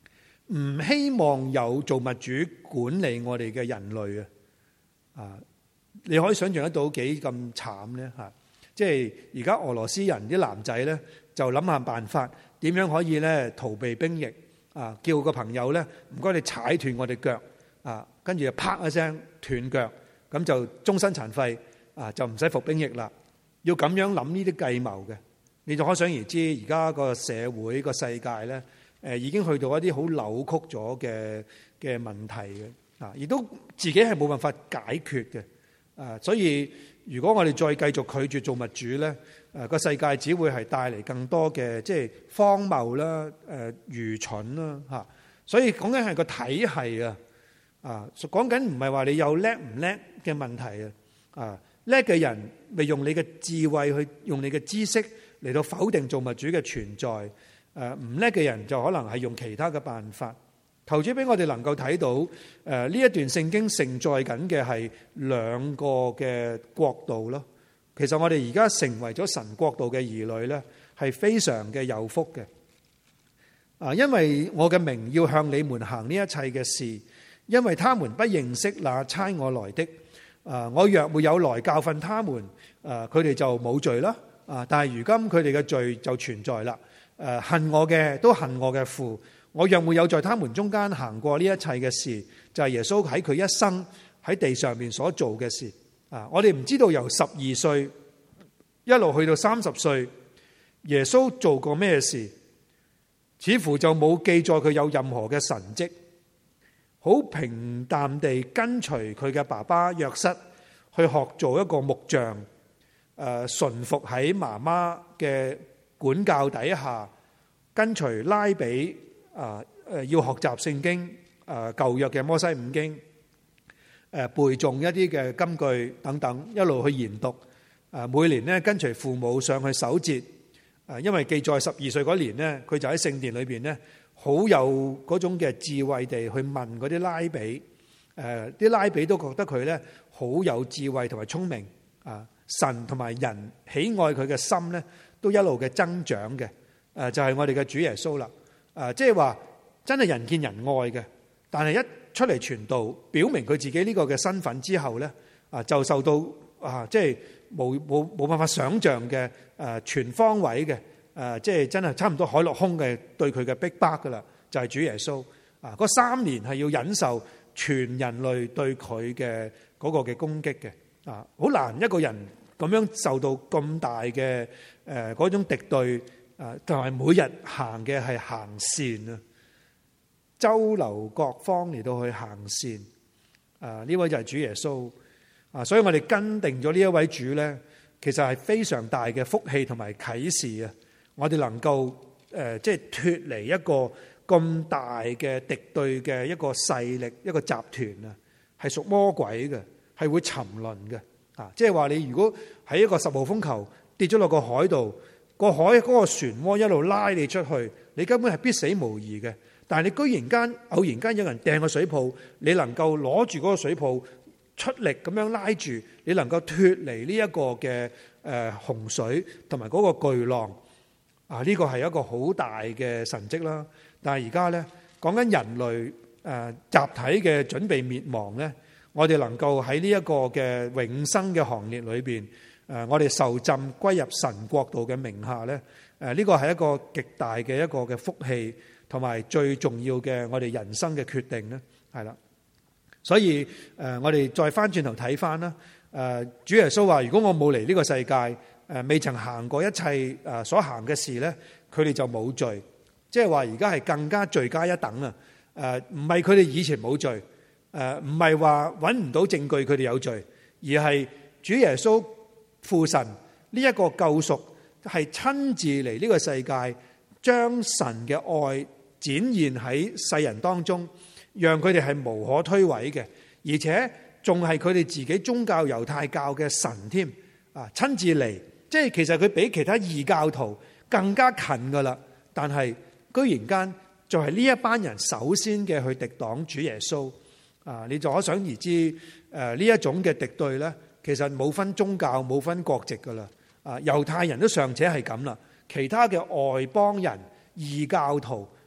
A: 唔希望有造物主管理我哋嘅人類啊！啊，你可以想象得到幾咁慘咧嚇！即係而家俄羅斯人啲男仔咧，就諗下辦法點樣可以咧逃避兵役啊！叫個朋友咧，唔該你踩斷我哋腳啊，跟住就啪一聲斷腳，咁就終身殘廢啊，就唔使服兵役啦。要咁樣諗呢啲計謀嘅，你就可想而知，而家個社會個世界咧。誒已經去到一啲好扭曲咗嘅嘅問題嘅，啊，亦都自己係冇辦法解決嘅，啊，所以如果我哋再繼續拒絕造物主咧，誒個世界只會係帶嚟更多嘅即係荒謬啦、誒愚蠢啦嚇，所以講緊係個體系啊，啊，講緊唔係話你有叻唔叻嘅問題啊，啊，叻嘅人咪用你嘅智慧去用你嘅知識嚟到否定造物主嘅存在。誒唔叻嘅人就可能係用其他嘅辦法。求主俾我哋能夠睇到誒呢一段聖經承載緊嘅係兩個嘅國度咯。其實我哋而家成為咗神國度嘅兒女咧，係非常嘅有福嘅。啊，因為我嘅名要向你們行呢一切嘅事，因為他們不認識那差我來的。啊，我若沒有來教訓他們，誒佢哋就冇罪啦。啊，但係如今佢哋嘅罪就存在啦。誒恨我嘅都恨我嘅父，我若沒有在他們中間行過呢一切嘅事，就係耶穌喺佢一生喺地上面所做嘅事。啊，我哋唔知道由十二歲一路去到三十歲，耶穌做過咩事，似乎就冇記載佢有任何嘅神蹟，好平淡地跟隨佢嘅爸爸約瑟去學做一個木匠，誒順服喺媽媽嘅管教底下，跟隨拉比啊，誒要學習聖經，誒舊約嘅摩西五經，誒背誦一啲嘅金句等等，一路去研讀。誒每年咧跟隨父母上去守節，誒因為記載十二歲嗰年咧，佢就喺聖殿裏邊咧，好有嗰種嘅智慧地去問嗰啲拉比，誒啲拉比都覺得佢咧好有智慧同埋聰明。啊，神同埋人喜愛佢嘅心咧，都一路嘅增長嘅，誒就係我哋嘅主耶穌啦，誒即係話真係人見人愛嘅，但係一出嚟傳道，表明佢自己呢個嘅身份之後咧，啊就受到啊即係冇冇冇辦法想象嘅誒全方位嘅誒即係真係差唔多海陸空嘅對佢嘅逼迫噶啦，就係主耶穌啊嗰三年係要忍受全人類對佢嘅嗰個嘅攻擊嘅，啊好難一個人咁樣受到咁大嘅誒嗰種敵對，誒同埋每日行嘅係行善啊，周流各方嚟到去行善，啊呢位就係主耶穌啊，所以我哋跟定咗呢一位主咧，其實係非常大嘅福氣同埋啟示啊！我哋能夠誒即係脫離一個咁大嘅敵對嘅一個勢力一個集團啊，係屬魔鬼嘅，係會沉淪嘅。啊！即係話你如果喺一個十號風球跌咗落個海度，個海嗰個漩渦一路拉你出去，你根本係必死無疑嘅。但係你居然間偶然間有人掟個水泡，你能夠攞住嗰個水泡出力咁樣拉住，你能夠脫離呢一個嘅誒洪水同埋嗰個巨浪啊！呢個係一個好大嘅神蹟啦。但係而家咧講緊人類誒集體嘅準備滅亡咧。我哋能夠喺呢一個嘅永生嘅行列裏邊，誒，我哋受浸歸入神國度嘅名下咧，誒，呢個係一個極大嘅一個嘅福氣，同埋最重要嘅我哋人生嘅決定咧，係啦。所以誒，我哋再翻轉頭睇翻啦，誒，主耶穌話：如果我冇嚟呢個世界，誒，未曾行過一切誒所行嘅事咧，佢哋就冇罪。即係話而家係更加罪加一等啊！誒，唔係佢哋以前冇罪。誒唔係話揾唔到證據佢哋有罪，而係主耶穌父神呢一個救贖係親自嚟呢個世界，將神嘅愛展現喺世人當中，讓佢哋係無可推諉嘅，而且仲係佢哋自己宗教猶太教嘅神添啊！親自嚟，即係其實佢比其他異教徒更加近噶啦，但係居然間就係呢一班人首先嘅去敵擋主耶穌。啊！你就可想而知，誒呢一種嘅敵對咧，其實冇分宗教、冇分國籍噶啦。啊，猶太人都尚且係咁啦，其他嘅外邦人、異教徒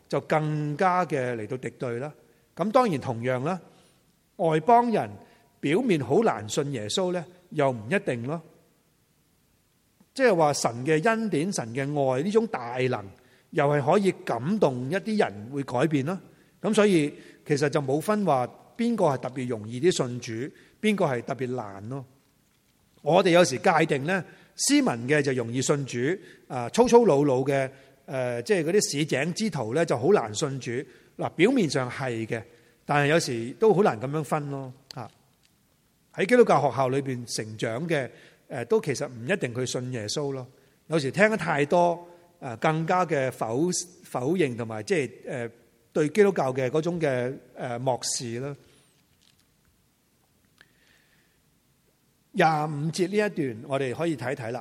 A: 就更加嘅嚟到敵對啦。咁當然同樣啦，外邦人表面好難信耶穌咧，又唔一定咯。即係話神嘅恩典、神嘅愛呢種大能，又係可以感動一啲人會改變咯。咁所以其實就冇分話邊個係特別容易啲信主，邊個係特別難咯。我哋有時界定咧，斯文嘅就容易信主，啊粗粗魯魯嘅，誒即係嗰啲市井之徒咧就好難信主。嗱，表面上係嘅，但係有時都好難咁樣分咯。嚇，喺基督教學校裏邊成長嘅，誒都其實唔一定佢信耶穌咯。有時聽得太多，誒更加嘅否否認同埋即係誒對基督教嘅嗰種嘅誒漠視啦。廿五節呢一段我哋可以睇睇啦。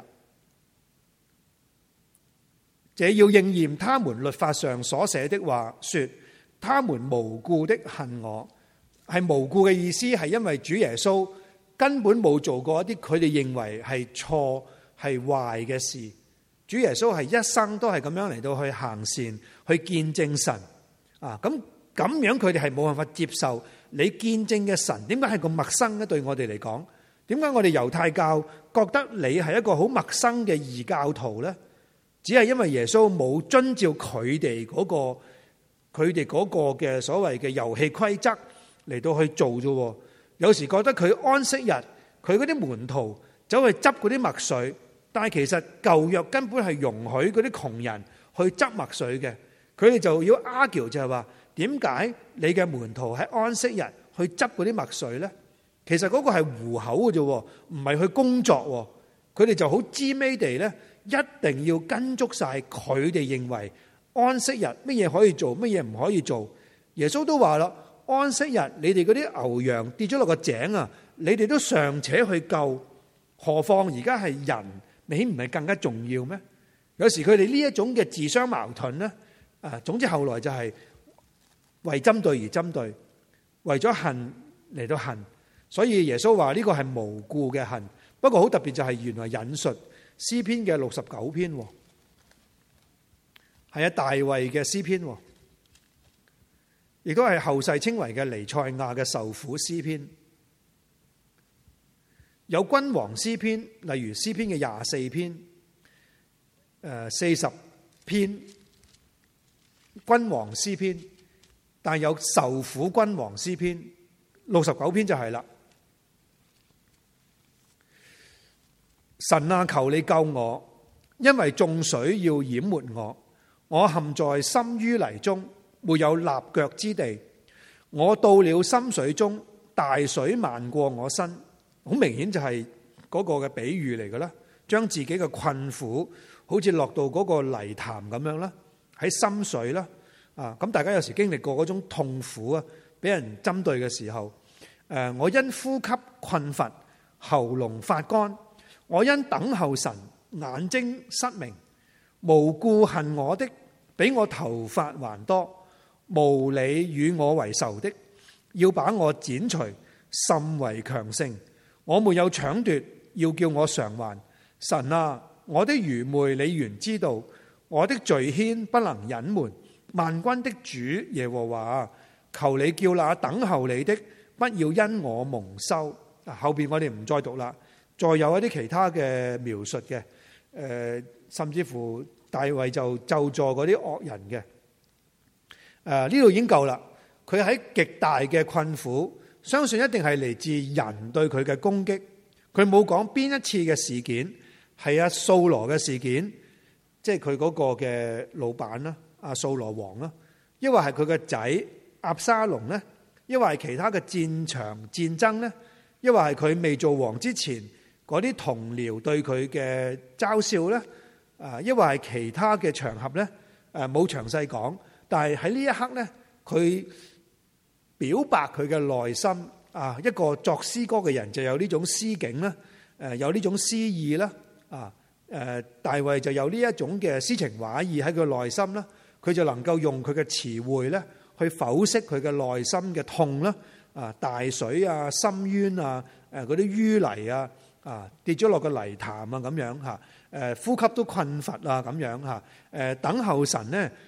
A: 這要應驗他們律法上所寫的話，說他們無故的恨我。係無故嘅意思係因為主耶穌根本冇做過一啲佢哋認為係錯係壞嘅事。主耶穌係一生都係咁樣嚟到去行善，去見證神啊。咁咁樣佢哋係冇辦法接受你見證嘅神點解係咁陌生咧？對我哋嚟講，點解我哋猶太教覺得你係一個好陌生嘅異教徒呢？只係因為耶穌冇遵照佢哋嗰個佢哋嗰個嘅所謂嘅遊戲規則嚟到去做啫。有時覺得佢安息日，佢嗰啲門徒走去執嗰啲麥穗，但係其實舊約根本係容許嗰啲窮人去執麥穗嘅。佢哋就要 argue 就係話，點解你嘅門徒喺安息日去執嗰啲麥穗呢？其實嗰個係糊口嘅啫，唔係去工作。佢哋就好知味地咧，一定要跟足晒佢哋認為安息日乜嘢可以做，乜嘢唔可以做。耶穌都話啦，安息日你哋嗰啲牛羊跌咗落個井啊，你哋都尚且去救，何況而家係人，你豈唔係更加重要咩？有時佢哋呢一種嘅自相矛盾咧，啊，總之後來就係為針對而針對，為咗恨嚟到恨。所以耶穌話呢個係無故嘅恨。不過好特別就係原來引述詩篇嘅六十九篇，係啊，大衛嘅詩篇，亦都係後世稱為嘅彌賽亞嘅受苦詩篇。有君王詩篇，例如詩篇嘅廿四篇，誒四十篇君王詩篇，但有受苦君王詩篇，六十九篇就係啦。神啊，求你救我，因為眾水要淹沒我，我陷在深淤泥中，沒有立腳之地。我到了深水中，大水漫過我身。好明顯就係嗰個嘅比喻嚟嘅啦，將自己嘅困苦好似落到嗰個泥潭咁樣啦，喺深水啦。啊，咁大家有時經歷過嗰種痛苦啊，俾人針對嘅時候，誒，我因呼吸困乏，喉嚨發乾。我因等候神，眼睛失明。無故恨我的，比我頭髮還多。無理與我為仇的，要把我剪除，甚為強盛。我沒有搶奪，要叫我償還。神啊，我的愚昧你原知道，我的罪愆不能隱瞞。萬軍的主耶和華，求你叫那等候你的，不要因我蒙羞。後邊我哋唔再讀啦。再有一啲其他嘅描述嘅，誒，甚至乎大衛就咒詛嗰啲惡人嘅，誒，呢度已經夠啦。佢喺極大嘅困苦，相信一定係嚟自人對佢嘅攻擊。佢冇講邊一次嘅事件係阿掃羅嘅事件，即係佢嗰個嘅老闆啦，阿掃羅王啦，抑或係佢嘅仔押沙龍咧，抑或係其他嘅戰場戰爭咧，抑或係佢未做王之前嗰啲同僚對佢嘅嘲笑咧，啊，抑或係其他嘅場合咧，誒冇詳細講，但係喺呢一刻咧，佢表白佢嘅內心啊，一個作詩歌嘅人就有呢種詩境啦，誒有呢種詩意啦，啊誒大衛就有呢一種嘅詩情畫意喺佢內心啦，佢就能夠用佢嘅詞彙咧去剖析佢嘅內心嘅痛啦，啊大水啊、深淵啊、誒嗰啲淤泥啊。啊，跌咗落個泥潭啊，咁樣嚇，誒呼吸都困乏啊，咁樣嚇，誒等候神咧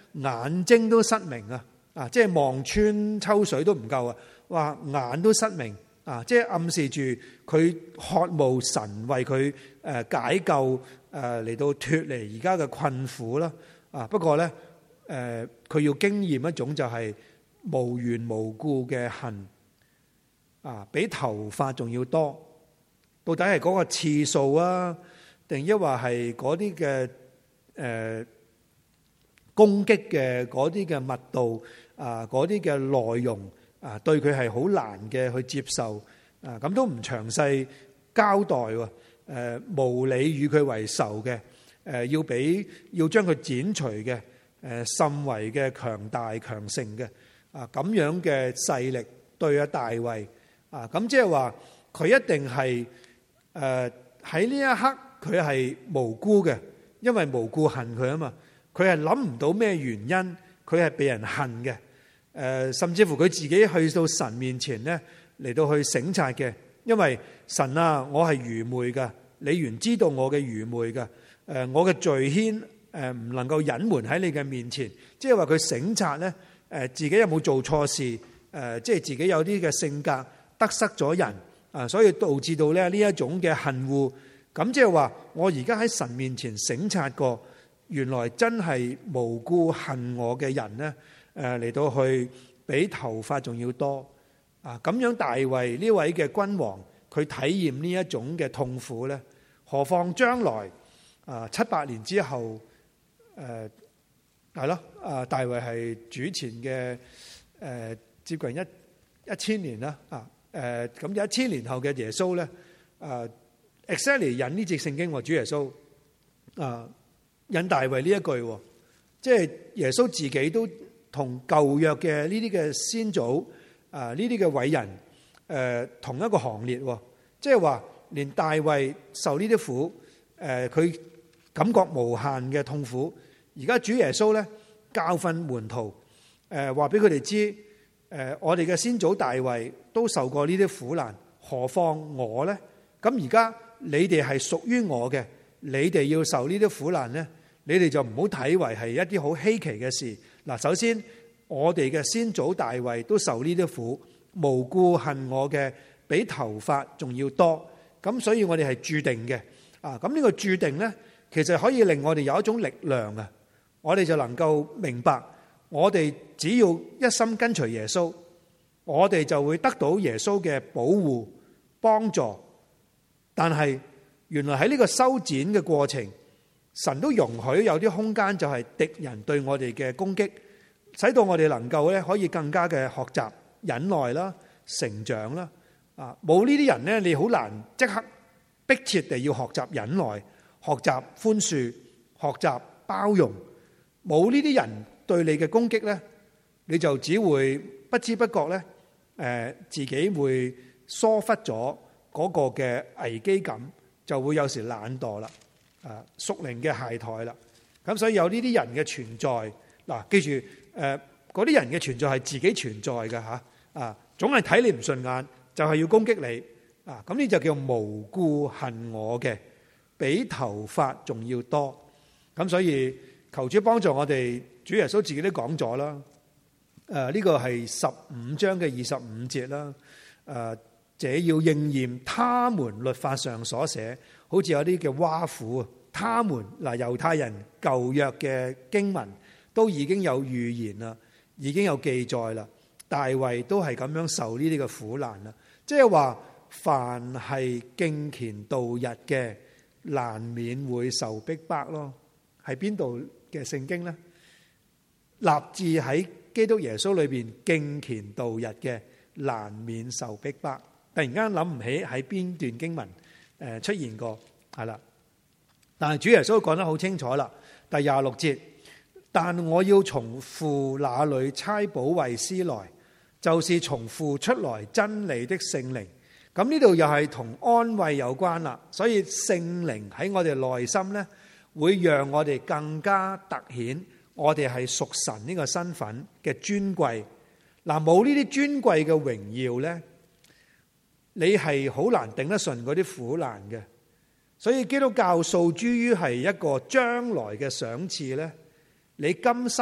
A: 眼睛都失明啊！啊，即係望穿秋水都唔夠啊！話眼都失明啊！即係暗示住佢渴慕神為佢誒解救誒嚟到脫離而家嘅困苦啦！啊，不過咧誒，佢要經驗一種就係無緣無故嘅恨啊，比頭髮仲要多。到底係嗰個次數啊，定抑或係嗰啲嘅誒攻擊嘅嗰啲嘅密度啊，嗰啲嘅內容啊，對佢係好難嘅去接受啊，咁都唔詳細交代喎。誒無理與佢為仇嘅，誒要俾要將佢剪除嘅，誒甚為嘅強大強盛嘅啊，咁樣嘅勢力對阿大衛啊，咁即係話佢一定係誒喺呢一刻佢係無辜嘅，因為無故恨佢啊嘛，佢係諗唔到咩原因，佢係被人恨嘅，誒甚至乎佢自己去到神面前咧嚟到去省察嘅，因為神啊，我係愚昧噶，你原知道我嘅愚昧噶，誒我嘅罪愆誒唔能夠隱瞞喺你嘅面前，即係話佢省察咧，誒自己有冇做錯事，誒即係自己有啲嘅性格得失咗人啊，所以導致到咧呢一種嘅恨惡，咁即係話我而家喺神面前省察過，原來真係無辜恨我嘅人咧，誒嚟到去比頭髮仲要多啊！咁樣大衛呢位嘅君王，佢體驗呢一種嘅痛苦咧，何況將來啊七八年之後，誒係咯啊大衛係主前嘅誒、呃、接近一一千年啦啊誒咁有一千年後嘅耶穌咧啊 exactly 引呢節聖經話主耶穌啊引大衛呢一句，即係耶穌自己都同舊約嘅呢啲嘅先祖啊，呢啲嘅偉人誒、呃、同一個行列，即係話連大衛受呢啲苦誒，佢、呃、感覺無限嘅痛苦。而家主耶穌咧教訓門徒誒，話俾佢哋知誒，我哋嘅先祖大衛都受過呢啲苦難，何況我咧？咁而家你哋係屬於我嘅，你哋要受呢啲苦難咧，你哋就唔好睇為係一啲好稀奇嘅事。嗱，首先我哋嘅先祖大衛都受呢啲苦，無故恨我嘅比頭髮仲要多，咁所以我哋係注定嘅啊！咁呢個注定咧，其實可以令我哋有一種力量啊！我哋就能夠明白，我哋只要一心跟隨耶穌，我哋就會得到耶穌嘅保護幫助。但係原來喺呢個修剪嘅過程，神都容許有啲空間，就係敵人對我哋嘅攻擊，使到我哋能夠咧可以更加嘅學習忍耐啦、成長啦。啊，冇呢啲人咧，你好難即刻迫切地要學習忍耐、學習寬恕、學習包容。冇呢啲人對你嘅攻擊咧，你就只會不知不覺咧，誒自己會疏忽咗嗰個嘅危機感，就會有時懶惰啦，啊屬靈嘅懈怠啦。咁所以有呢啲人嘅存在，嗱記住誒嗰啲人嘅存在係自己存在嘅嚇，啊總係睇你唔順眼，就係要攻擊你啊！咁呢就叫無故恨我嘅，比頭髮仲要多。咁所以求主幫助我哋，主耶穌自己都講咗啦。誒呢個係十五章嘅二十五節啦。誒，這要應驗他們律法上所寫，好似有啲嘅挖苦啊。他們嗱猶太人舊約嘅經文都已經有預言啦，已經有記載啦。大衛都係咁樣受呢啲嘅苦難啦。即係話，凡係敬虔度日嘅，難免會受逼迫咯。係邊度嘅聖經呢？立志喺基督耶穌裏邊敬虔度日嘅，難免受逼迫。突然間諗唔起喺邊段經文誒出現過，係啦。但係主耶穌講得好清楚啦，第廿六節，但我要從父那裏差保惠師來，就是從父出來真理的聖靈。咁呢度又係同安慰有關啦。所以聖靈喺我哋內心呢，會讓我哋更加突顯我哋係屬神呢個身份嘅尊貴。嗱，冇呢啲尊貴嘅榮耀呢，你係好難頂得順嗰啲苦難嘅。所以基督教訴諸於係一個將來嘅賞賜呢，你今生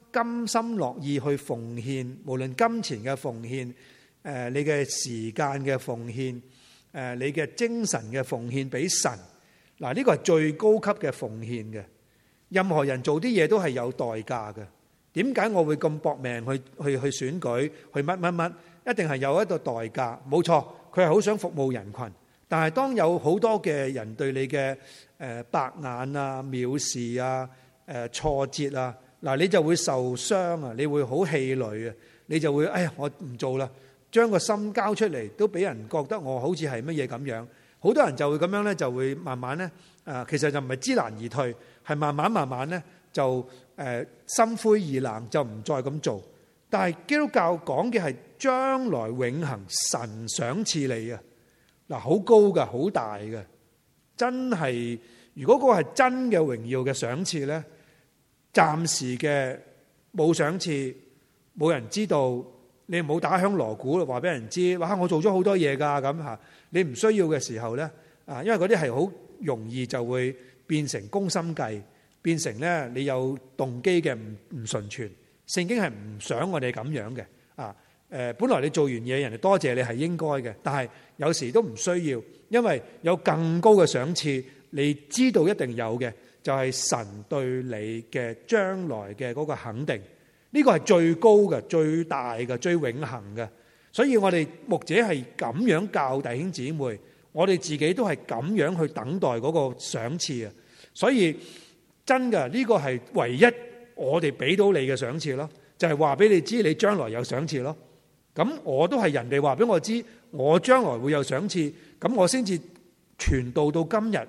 A: 甘心樂意去奉獻，無論金錢嘅奉獻，誒你嘅時間嘅奉獻，誒你嘅精神嘅奉獻俾神。嗱，呢個係最高級嘅奉獻嘅。任何人做啲嘢都係有代價嘅。點解我會咁搏命去去去選舉，去乜乜乜？一定係有一個代價。冇錯，佢係好想服務人群。但係當有好多嘅人對你嘅誒白眼啊、藐視啊、誒挫折啊，嗱你就會受傷啊，你會好氣餒啊，你就會哎呀我唔做啦，將個心交出嚟都俾人覺得我好似係乜嘢咁樣。好多人就會咁樣咧，就會慢慢咧誒，其實就唔係知難而退，係慢慢慢慢咧就誒心灰意冷，就唔再咁做。但係基督教講嘅係將來永恆神賞賜你啊！嗱，好高噶，好大嘅，真係。如果嗰個係真嘅榮耀嘅賞賜咧，暫時嘅冇賞賜，冇人知道，你唔好打響鑼鼓話俾人知，哇！我做咗好多嘢噶咁吓，你唔需要嘅時候咧，啊，因為嗰啲係好容易就會變成攻心計，變成咧你有動機嘅唔唔純全。聖經係唔想我哋咁樣嘅啊。誒，本來你做完嘢，人哋多謝你係應該嘅，但係有時都唔需要，因為有更高嘅賞賜，你知道一定有嘅，就係神對你嘅將來嘅嗰個肯定，呢個係最高嘅、最大嘅、最永恆嘅。所以我哋牧者係咁樣教弟兄姊妹，我哋自己都係咁樣去等待嗰個賞賜啊。所以真嘅呢個係唯一我哋俾到你嘅賞賜咯，就係話俾你知你將來有賞賜咯。咁我都係人哋話俾我知，我將來會有賞賜，咁我先至傳道到今日。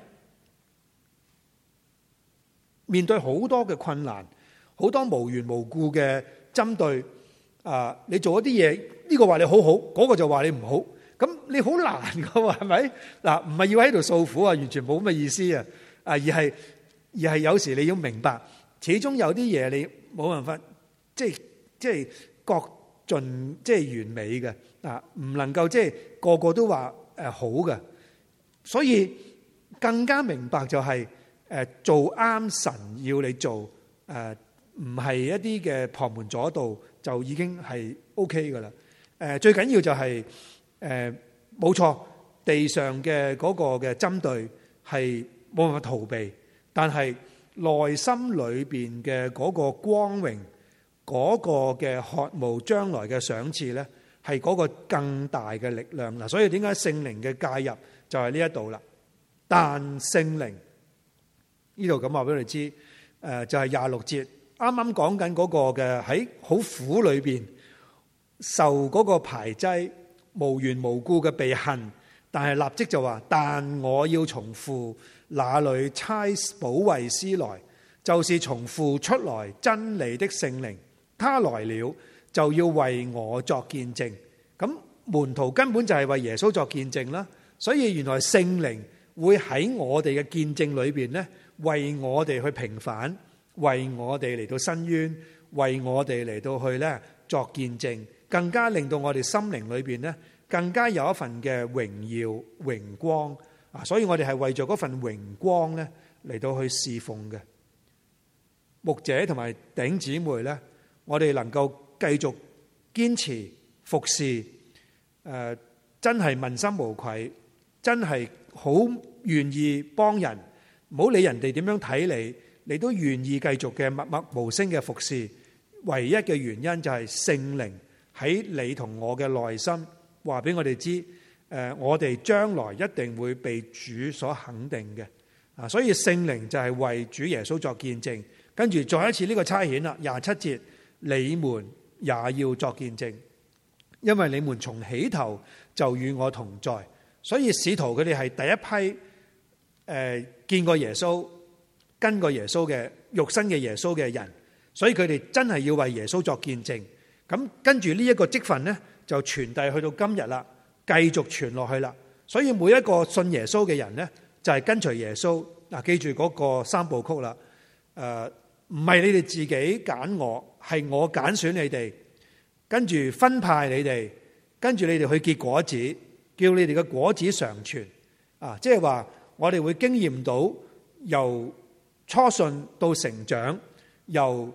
A: 面對好多嘅困難，好多無緣無故嘅針對，啊，你做一啲嘢，呢個話你好好，嗰個就話你唔好，咁你好難噶喎，係咪？嗱，唔係要喺度訴苦啊，完全冇咁嘅意思啊，啊，而係而係有時你要明白，始終有啲嘢你冇辦法，即係即係各盡即係完美嘅啊，唔能夠即係個個都話誒好嘅，所以更加明白就係誒做啱神要你做誒，唔係一啲嘅旁門左道就已經係 OK 噶啦。誒最緊要就係誒冇錯，地上嘅嗰個嘅針對係冇辦法逃避，但係內心裏邊嘅嗰個光榮。嗰個嘅渴慕將來嘅賞賜咧，係嗰個更大嘅力量嗱。所以點解聖靈嘅介入就係呢一度啦？但聖靈呢度咁話俾你知，誒就係廿六節啱啱講緊嗰個嘅喺好苦裏邊受嗰個排擠，無緣無故嘅被恨，但係立即就話：但我要從父那裏差保惠師來，就是從父出來真理的聖靈。他來了就要為我作見證，咁門徒根本就係為耶穌作見證啦。所以原來聖靈會喺我哋嘅見證裏邊咧，為我哋去平反，為我哋嚟到申冤，為我哋嚟到去咧作見證，更加令到我哋心靈裏邊咧更加有一份嘅榮耀榮光啊！所以我哋係為咗嗰份榮光咧嚟到去侍奉嘅牧者同埋弟兄姊妹咧。我哋能夠繼續堅持服侍，誒、呃，真係問心無愧，真係好願意幫人，唔好理人哋點樣睇你，你都願意繼續嘅默默無聲嘅服侍。唯一嘅原因就係聖靈喺你同我嘅內心話俾我哋知，誒、呃，我哋將來一定會被主所肯定嘅啊！所以聖靈就係為主耶穌作見證，跟住再一次呢個差遣啦，廿七節。你們也要作見證，因為你們從起頭就與我同在。所以使徒佢哋係第一批誒、呃、見過耶穌、跟過耶穌嘅肉身嘅耶穌嘅人，所以佢哋真係要為耶穌作見證。咁跟住呢一個職分呢，就傳遞去到今日啦，繼續傳落去啦。所以每一個信耶穌嘅人呢，就係、是、跟隨耶穌。嗱，記住嗰個三部曲啦，誒、呃。唔係你哋自己揀我，係我揀選你哋，跟住分派你哋，跟住你哋去結果子，叫你哋嘅果子常存。啊，即係話我哋會經驗到由初信到成長，由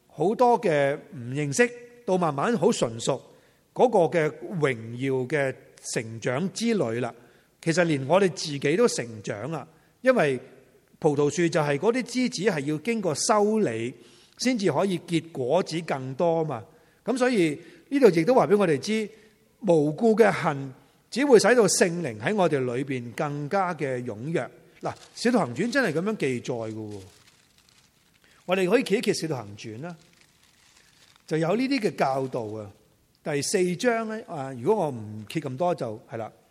A: 好多嘅唔認識，到慢慢好純熟嗰個嘅榮耀嘅成長之旅啦。其實連我哋自己都成長啊，因為葡萄樹就係嗰啲枝子係要經過修理先至可以結果子更多嘛。咁所以呢度亦都話俾我哋知，無故嘅恨只會使到聖靈喺我哋裏邊更加嘅踴躍。嗱，《使徒行傳》真係咁樣記載嘅，我哋可以揭一揭《使徒行傳》啦，就有呢啲嘅教導啊。第四章咧啊，如果我唔揭咁多就係啦。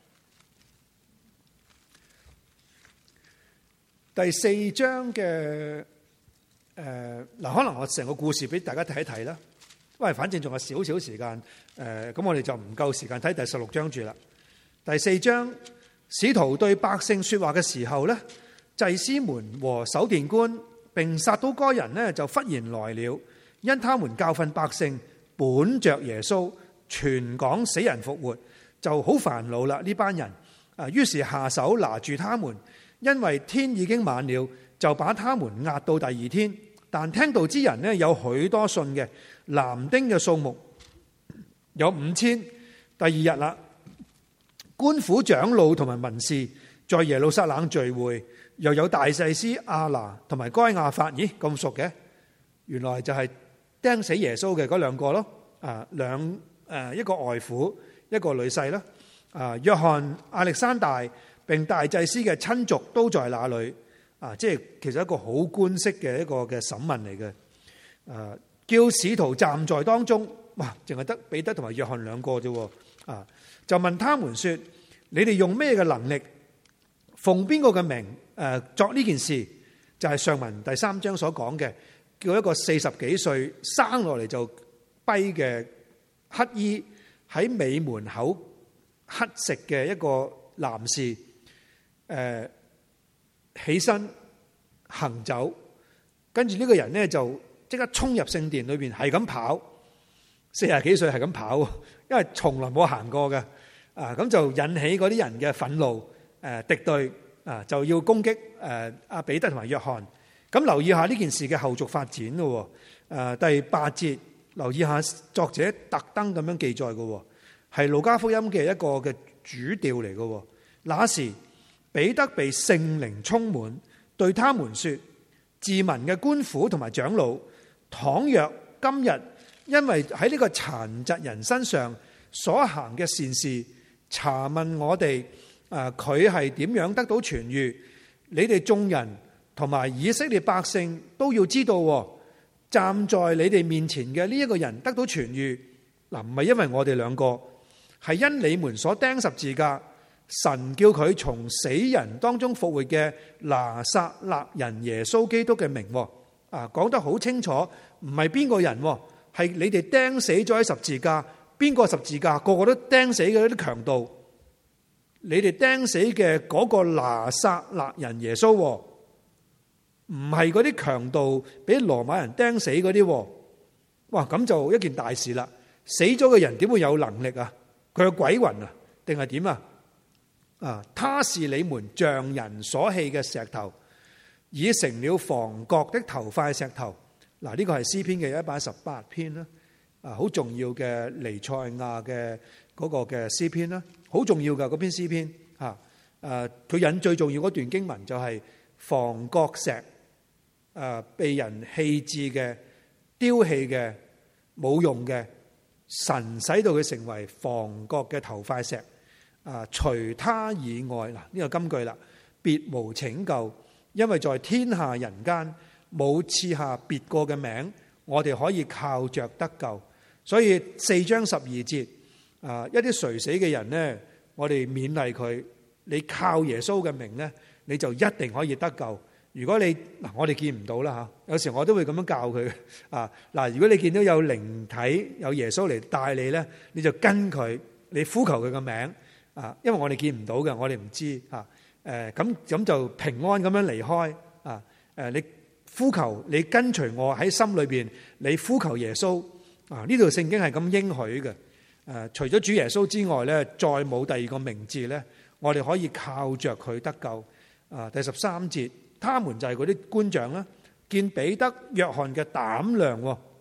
A: 第四章嘅誒嗱，可能我成個故事俾大家睇一睇啦。因為反正仲有少少時間，誒咁我哋就唔夠時間睇第十六章住啦。第四章，使徒對百姓說話嘅時候咧，祭司們和守殿官並撒都該人呢就忽然來了，因他們教訓百姓，本着耶穌傳講死人復活，就好煩惱啦呢班人。啊，於是下手拿住他們。因為天已經晚了，就把他們押到第二天。但聽道之人呢，有許多信嘅，男丁嘅數目有五千。第二日啦，官府長老同埋文士在耶路撒冷聚會，又有大祭司亞拿同埋該亞法，咦咁熟嘅？原來就係釘死耶穌嘅嗰兩個咯。啊，兩誒一個外父，一個女婿啦。啊，約翰、亞歷山大並大祭司嘅親族都在那裏，啊，即係其實一個好官式嘅一個嘅審問嚟嘅。啊，叫使徒站在當中，哇，淨係得彼得同埋約翰兩個啫。啊，就問他們說：你哋用咩嘅能力，奉邊個嘅名誒作呢件事？就係上文第三章所講嘅，叫一個四十幾歲生落嚟就跛嘅乞衣喺尾門口乞食嘅一個男士。誒、呃，起身行走，跟住呢個人呢就即刻衝入聖殿裏邊，係咁跑，四十幾歲係咁跑，因為從來冇行過嘅，啊，咁就引起嗰啲人嘅憤怒，誒、呃，敵對，啊，就要攻擊誒阿彼得同埋約翰。咁留意下呢件事嘅後續發展咯，誒、呃，第八節留意下作者特登咁樣記載嘅，係路加福音嘅一個嘅主調嚟嘅。那時彼得被聖靈充滿，對他們說：治民嘅官府同埋長老，倘若今日因為喺呢個殘疾人身上所行嘅善事，查問我哋，誒佢係點樣得到痊癒？你哋眾人同埋以色列百姓都要知道，站在你哋面前嘅呢一個人得到痊癒，嗱，唔係因為我哋兩個，係因你們所釘十字架。神叫佢從死人當中復活嘅拿撒勒人耶穌基督嘅名，啊，講得好清楚，唔係邊個人，係你哋釘死咗喺十字架，邊個十字架？個個都釘死嘅啲強盜，你哋釘死嘅嗰個拿撒勒人耶穌，唔係嗰啲強盜俾羅馬人釘死嗰啲，哇，咁就一件大事啦！死咗嘅人點會有能力啊？佢係鬼魂啊，定係點啊？啊！他是你們匠人所棄嘅石頭，已成了房角的頭塊石頭。嗱，呢個係詩篇嘅一百一十八篇啦，啊，好重要嘅彌賽亞嘅嗰個嘅詩篇啦，好重要嘅嗰篇詩篇嚇。誒，佢引最重要嗰段經文就係房角石，誒，被人棄置嘅、丟棄嘅、冇用嘅，神使到佢成為房角嘅頭塊石。啊！除他以外，嗱，呢個金句啦，別無拯救，因為在天下人間冇賜下別個嘅名，我哋可以靠着得救。所以四章十二節，啊，一啲垂死嘅人呢，我哋勉勵佢，你靠耶穌嘅名呢，你就一定可以得救。如果你嗱，我哋見唔到啦吓，有時我都會咁樣教佢啊。嗱，如果你見到有靈體有耶穌嚟帶你呢，你就跟佢，你呼求佢嘅名。啊，因為我哋見唔到嘅，我哋唔知啊。誒，咁咁就平安咁樣離開啊。誒，你呼求，你跟隨我喺心裏邊，你呼求耶穌啊。呢度聖經係咁應許嘅。誒，除咗主耶穌之外咧，再冇第二個名字咧，我哋可以靠着佢得救。啊，第十三節，他們就係嗰啲官長啦，見彼得、約翰嘅膽量，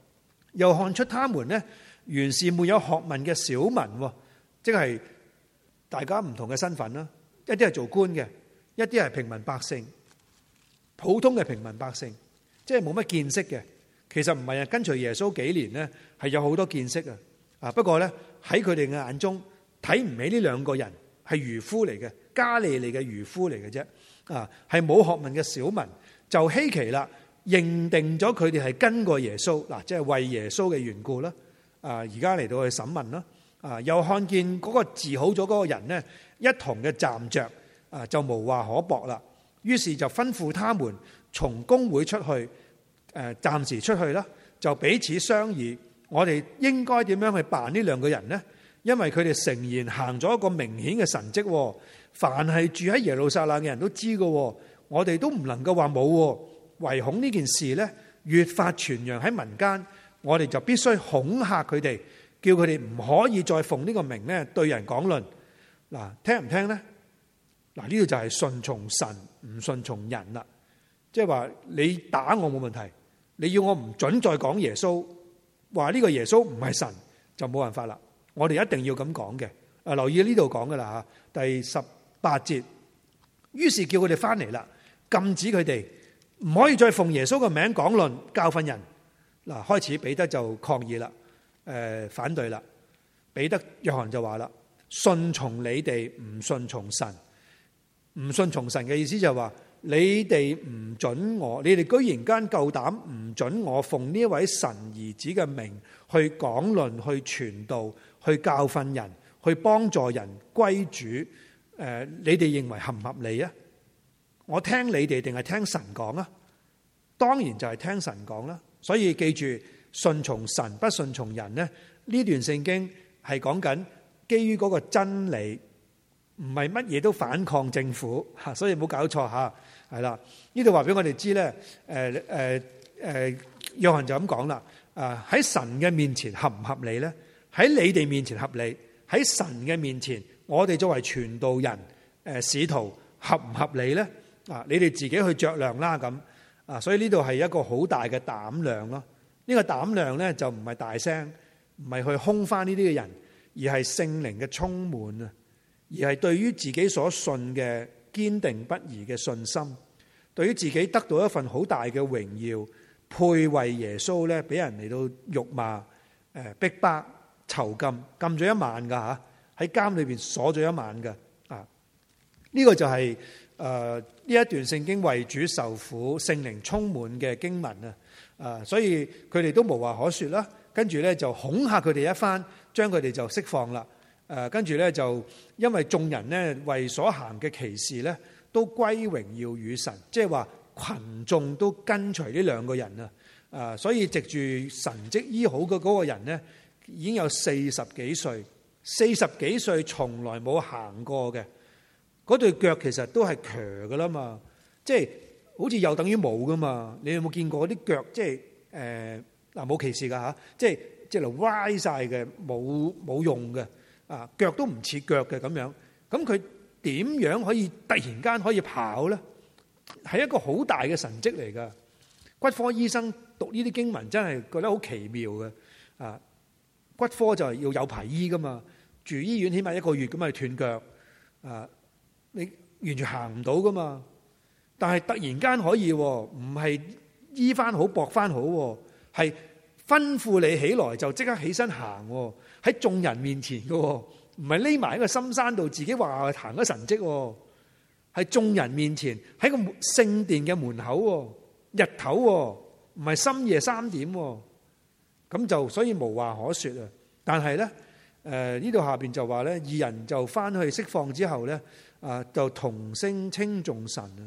A: 又看出他們呢原是沒有學問嘅小民，即係大家唔同嘅身份啦，一啲係做官嘅，一啲係平民百姓，普通嘅平民百姓，即係冇乜見識嘅。其實唔係啊，跟隨耶穌幾年呢，係有好多見識啊。啊，不過呢，喺佢哋嘅眼中睇唔起呢兩個人係漁夫嚟嘅，加利利嘅漁夫嚟嘅啫。啊，係冇學問嘅小民，就稀奇啦，認定咗佢哋係跟過耶穌嗱，即係為耶穌嘅緣故啦。啊，而家嚟到去審問啦。啊，又看見嗰個治好咗嗰個人呢，一同嘅站着，啊，就無話可駁啦。於是就吩咐他們從公會出去，誒，暫時出去啦，就彼此商議，我哋應該點樣去辦呢兩個人呢？因為佢哋誠然行咗一個明顯嘅神蹟，凡係住喺耶路撒冷嘅人都知㗎，我哋都唔能夠話冇，唯恐呢件事呢越發傳揚喺民間，我哋就必須恐嚇佢哋，叫佢哋唔可以再奉呢個名呢對人講論。嗱，聽唔聽呢？嗱，呢度就係順從神，唔順從人啦。即係話你打我冇問題，你要我唔准再講耶穌，話呢個耶穌唔係神，就冇辦法啦。我哋一定要咁講嘅。啊，留意呢度講噶啦吓，第十八節，於是叫佢哋翻嚟啦，禁止佢哋唔可以再奉耶穌嘅名講論教訓人。嗱，開始彼得就抗議啦，誒，反對啦。彼得約翰就話啦，順從你哋唔順從神，唔順從神嘅意思就係話你哋唔准我，你哋居然間夠膽唔准我奉呢一位神兒子嘅名去講論、去傳道、去教訓人、去幫助人歸主。誒，你哋認為合唔合理啊？我聽你哋定係聽神講啊？當然就係聽神講啦。所以記住，順從神不順從人呢，呢段聖經係講緊基於嗰個真理，唔係乜嘢都反抗政府吓，所以唔好搞錯吓，係啦。呢度話俾我哋知咧，誒誒誒，約翰就咁講啦。啊，喺神嘅面前合唔合理咧？喺你哋面前合理，喺神嘅面前，我哋作為傳道人、誒使徒合唔合理咧？啊，你哋自己去酌量啦咁。啊，所以呢度係一個好大嘅膽量咯。呢個膽量咧就唔係大聲，唔係去兇翻呢啲嘅人，而係聖靈嘅充滿啊，而係對於自己所信嘅堅定不移嘅信心，對於自己得到一份好大嘅榮耀，配為耶穌咧，俾人嚟到辱罵、誒逼迫、囚禁，禁咗一晚噶吓，喺監裏邊鎖咗一晚噶啊。呢個就係誒呢一段聖經為主受苦、聖靈充滿嘅經文啊。啊，所以佢哋都無話可說啦。跟住咧就恐嚇佢哋一番，將佢哋就釋放啦。誒，跟住咧就因為眾人呢為所行嘅奇事咧，都歸榮耀與神，即係話群眾都跟隨呢兩個人啊。啊，所以藉住神蹟醫好嘅嗰個人呢，已經有四十幾歲，四十幾歲從來冇行過嘅，嗰對腳其實都係瘸噶啦嘛，即係好似又等於冇噶嘛。你有冇見過嗰啲腳？即係誒嗱，冇歧視噶吓，即係即係歪晒嘅，冇冇用嘅啊，腳都唔似腳嘅咁樣。咁佢點樣可以突然間可以跑咧？係一個好大嘅神蹟嚟噶。骨科醫生讀呢啲經文真係覺得好奇妙嘅啊！骨科就係要有排醫噶嘛，住醫院起碼一個月咁啊斷腳啊，你完全行唔到噶嘛。但係突然間可以，唔係醫翻好駁翻好，係吩咐你起來就即刻起身行，喺眾人面前噶，唔係匿埋喺個深山度自己話行咗神蹟，喺眾人面前喺個聖殿嘅門口，日頭唔係深夜三點，咁就所以無話可說啊。但係咧，誒呢度下邊就話咧，義人就翻去釋放之後咧，啊就同聲稱頌神啊。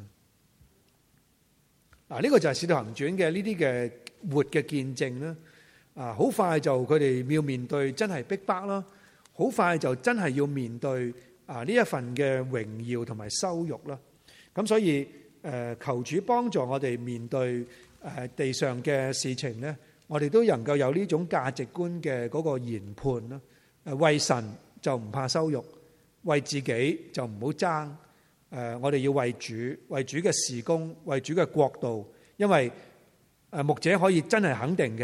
A: 嗱，呢個就係《使徒行傳》嘅呢啲嘅活嘅見證啦。啊，好快就佢哋要面對真係逼迫啦，好快就真係要面對啊呢一份嘅榮耀同埋羞辱啦。咁所以誒，求主幫助我哋面對誒地上嘅事情咧，我哋都能夠有呢種價值觀嘅嗰個研判啦。誒，為神就唔怕羞辱，為自己就唔好爭。誒，我哋要為主，為主嘅事工，為主嘅國度。因為誒牧者可以真係肯定嘅，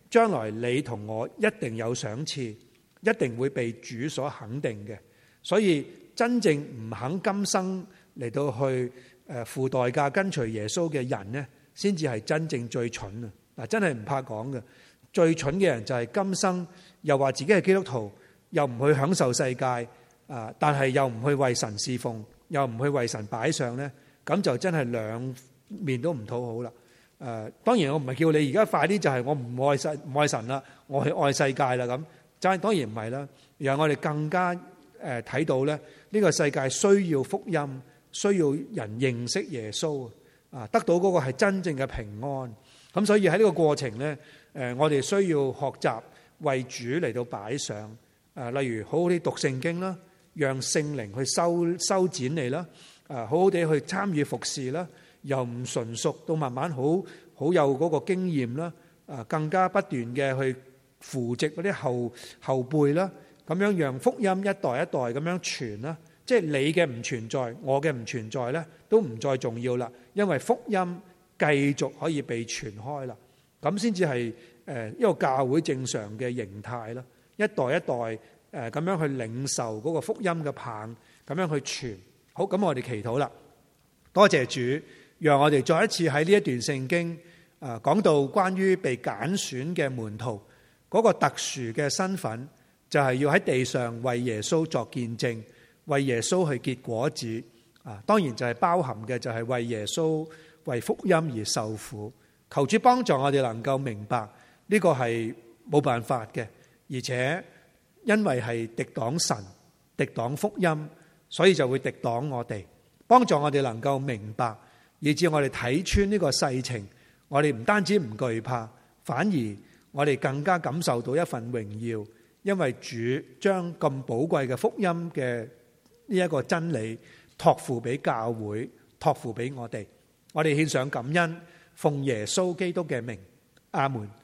A: 將來你同我一定有賞賜，一定會被主所肯定嘅。所以真正唔肯今生嚟到去誒付代價跟隨耶穌嘅人呢，先至係真正最蠢啊！嗱，真係唔怕講嘅，最蠢嘅人就係今生又話自己係基督徒，又唔去享受世界啊，但係又唔去為神侍奉，又唔去為神擺上呢，咁就真係兩面都唔討好啦。誒，當然我唔係叫你而家快啲就係我唔愛世唔愛神啦，我去愛世界啦咁，就係當然唔係啦。然後我哋更加誒睇到咧，呢個世界需要福音，需要人認識耶穌啊，得到嗰個係真正嘅平安。咁所以喺呢個過程咧，誒我哋需要學習為主嚟到擺上誒，例如好好啲讀聖經啦，讓聖靈去修修剪你啦，誒好好地去參與服侍啦，由唔純熟到慢慢好好有嗰個經驗啦，誒更加不斷嘅去扶植嗰啲後後輩啦。咁樣讓福音一代一代咁樣傳啦，即係你嘅唔存在，我嘅唔存在咧，都唔再重要啦。因為福音繼續可以被傳開啦，咁先至係誒一個教會正常嘅形態啦。一代一代誒咁樣去領受嗰個福音嘅棒，咁樣去傳。好，咁我哋祈禱啦。多謝主，讓我哋再一次喺呢一段聖經誒講到關於被揀選嘅門徒嗰個特殊嘅身份。就係要喺地上為耶穌作見證，為耶穌去結果子啊！當然就係包含嘅就係為耶穌為福音而受苦。求主幫助我哋能夠明白呢個係冇辦法嘅，而且因為係敵擋神、敵擋福音，所以就會敵擋我哋。幫助我哋能夠明白，以致我哋睇穿呢個世情，我哋唔單止唔懼怕，反而我哋更加感受到一份榮耀。因為主將咁寶貴嘅福音嘅呢一個真理託付俾教會，託付俾我哋，我哋獻上感恩，奉耶穌基督嘅名，阿門。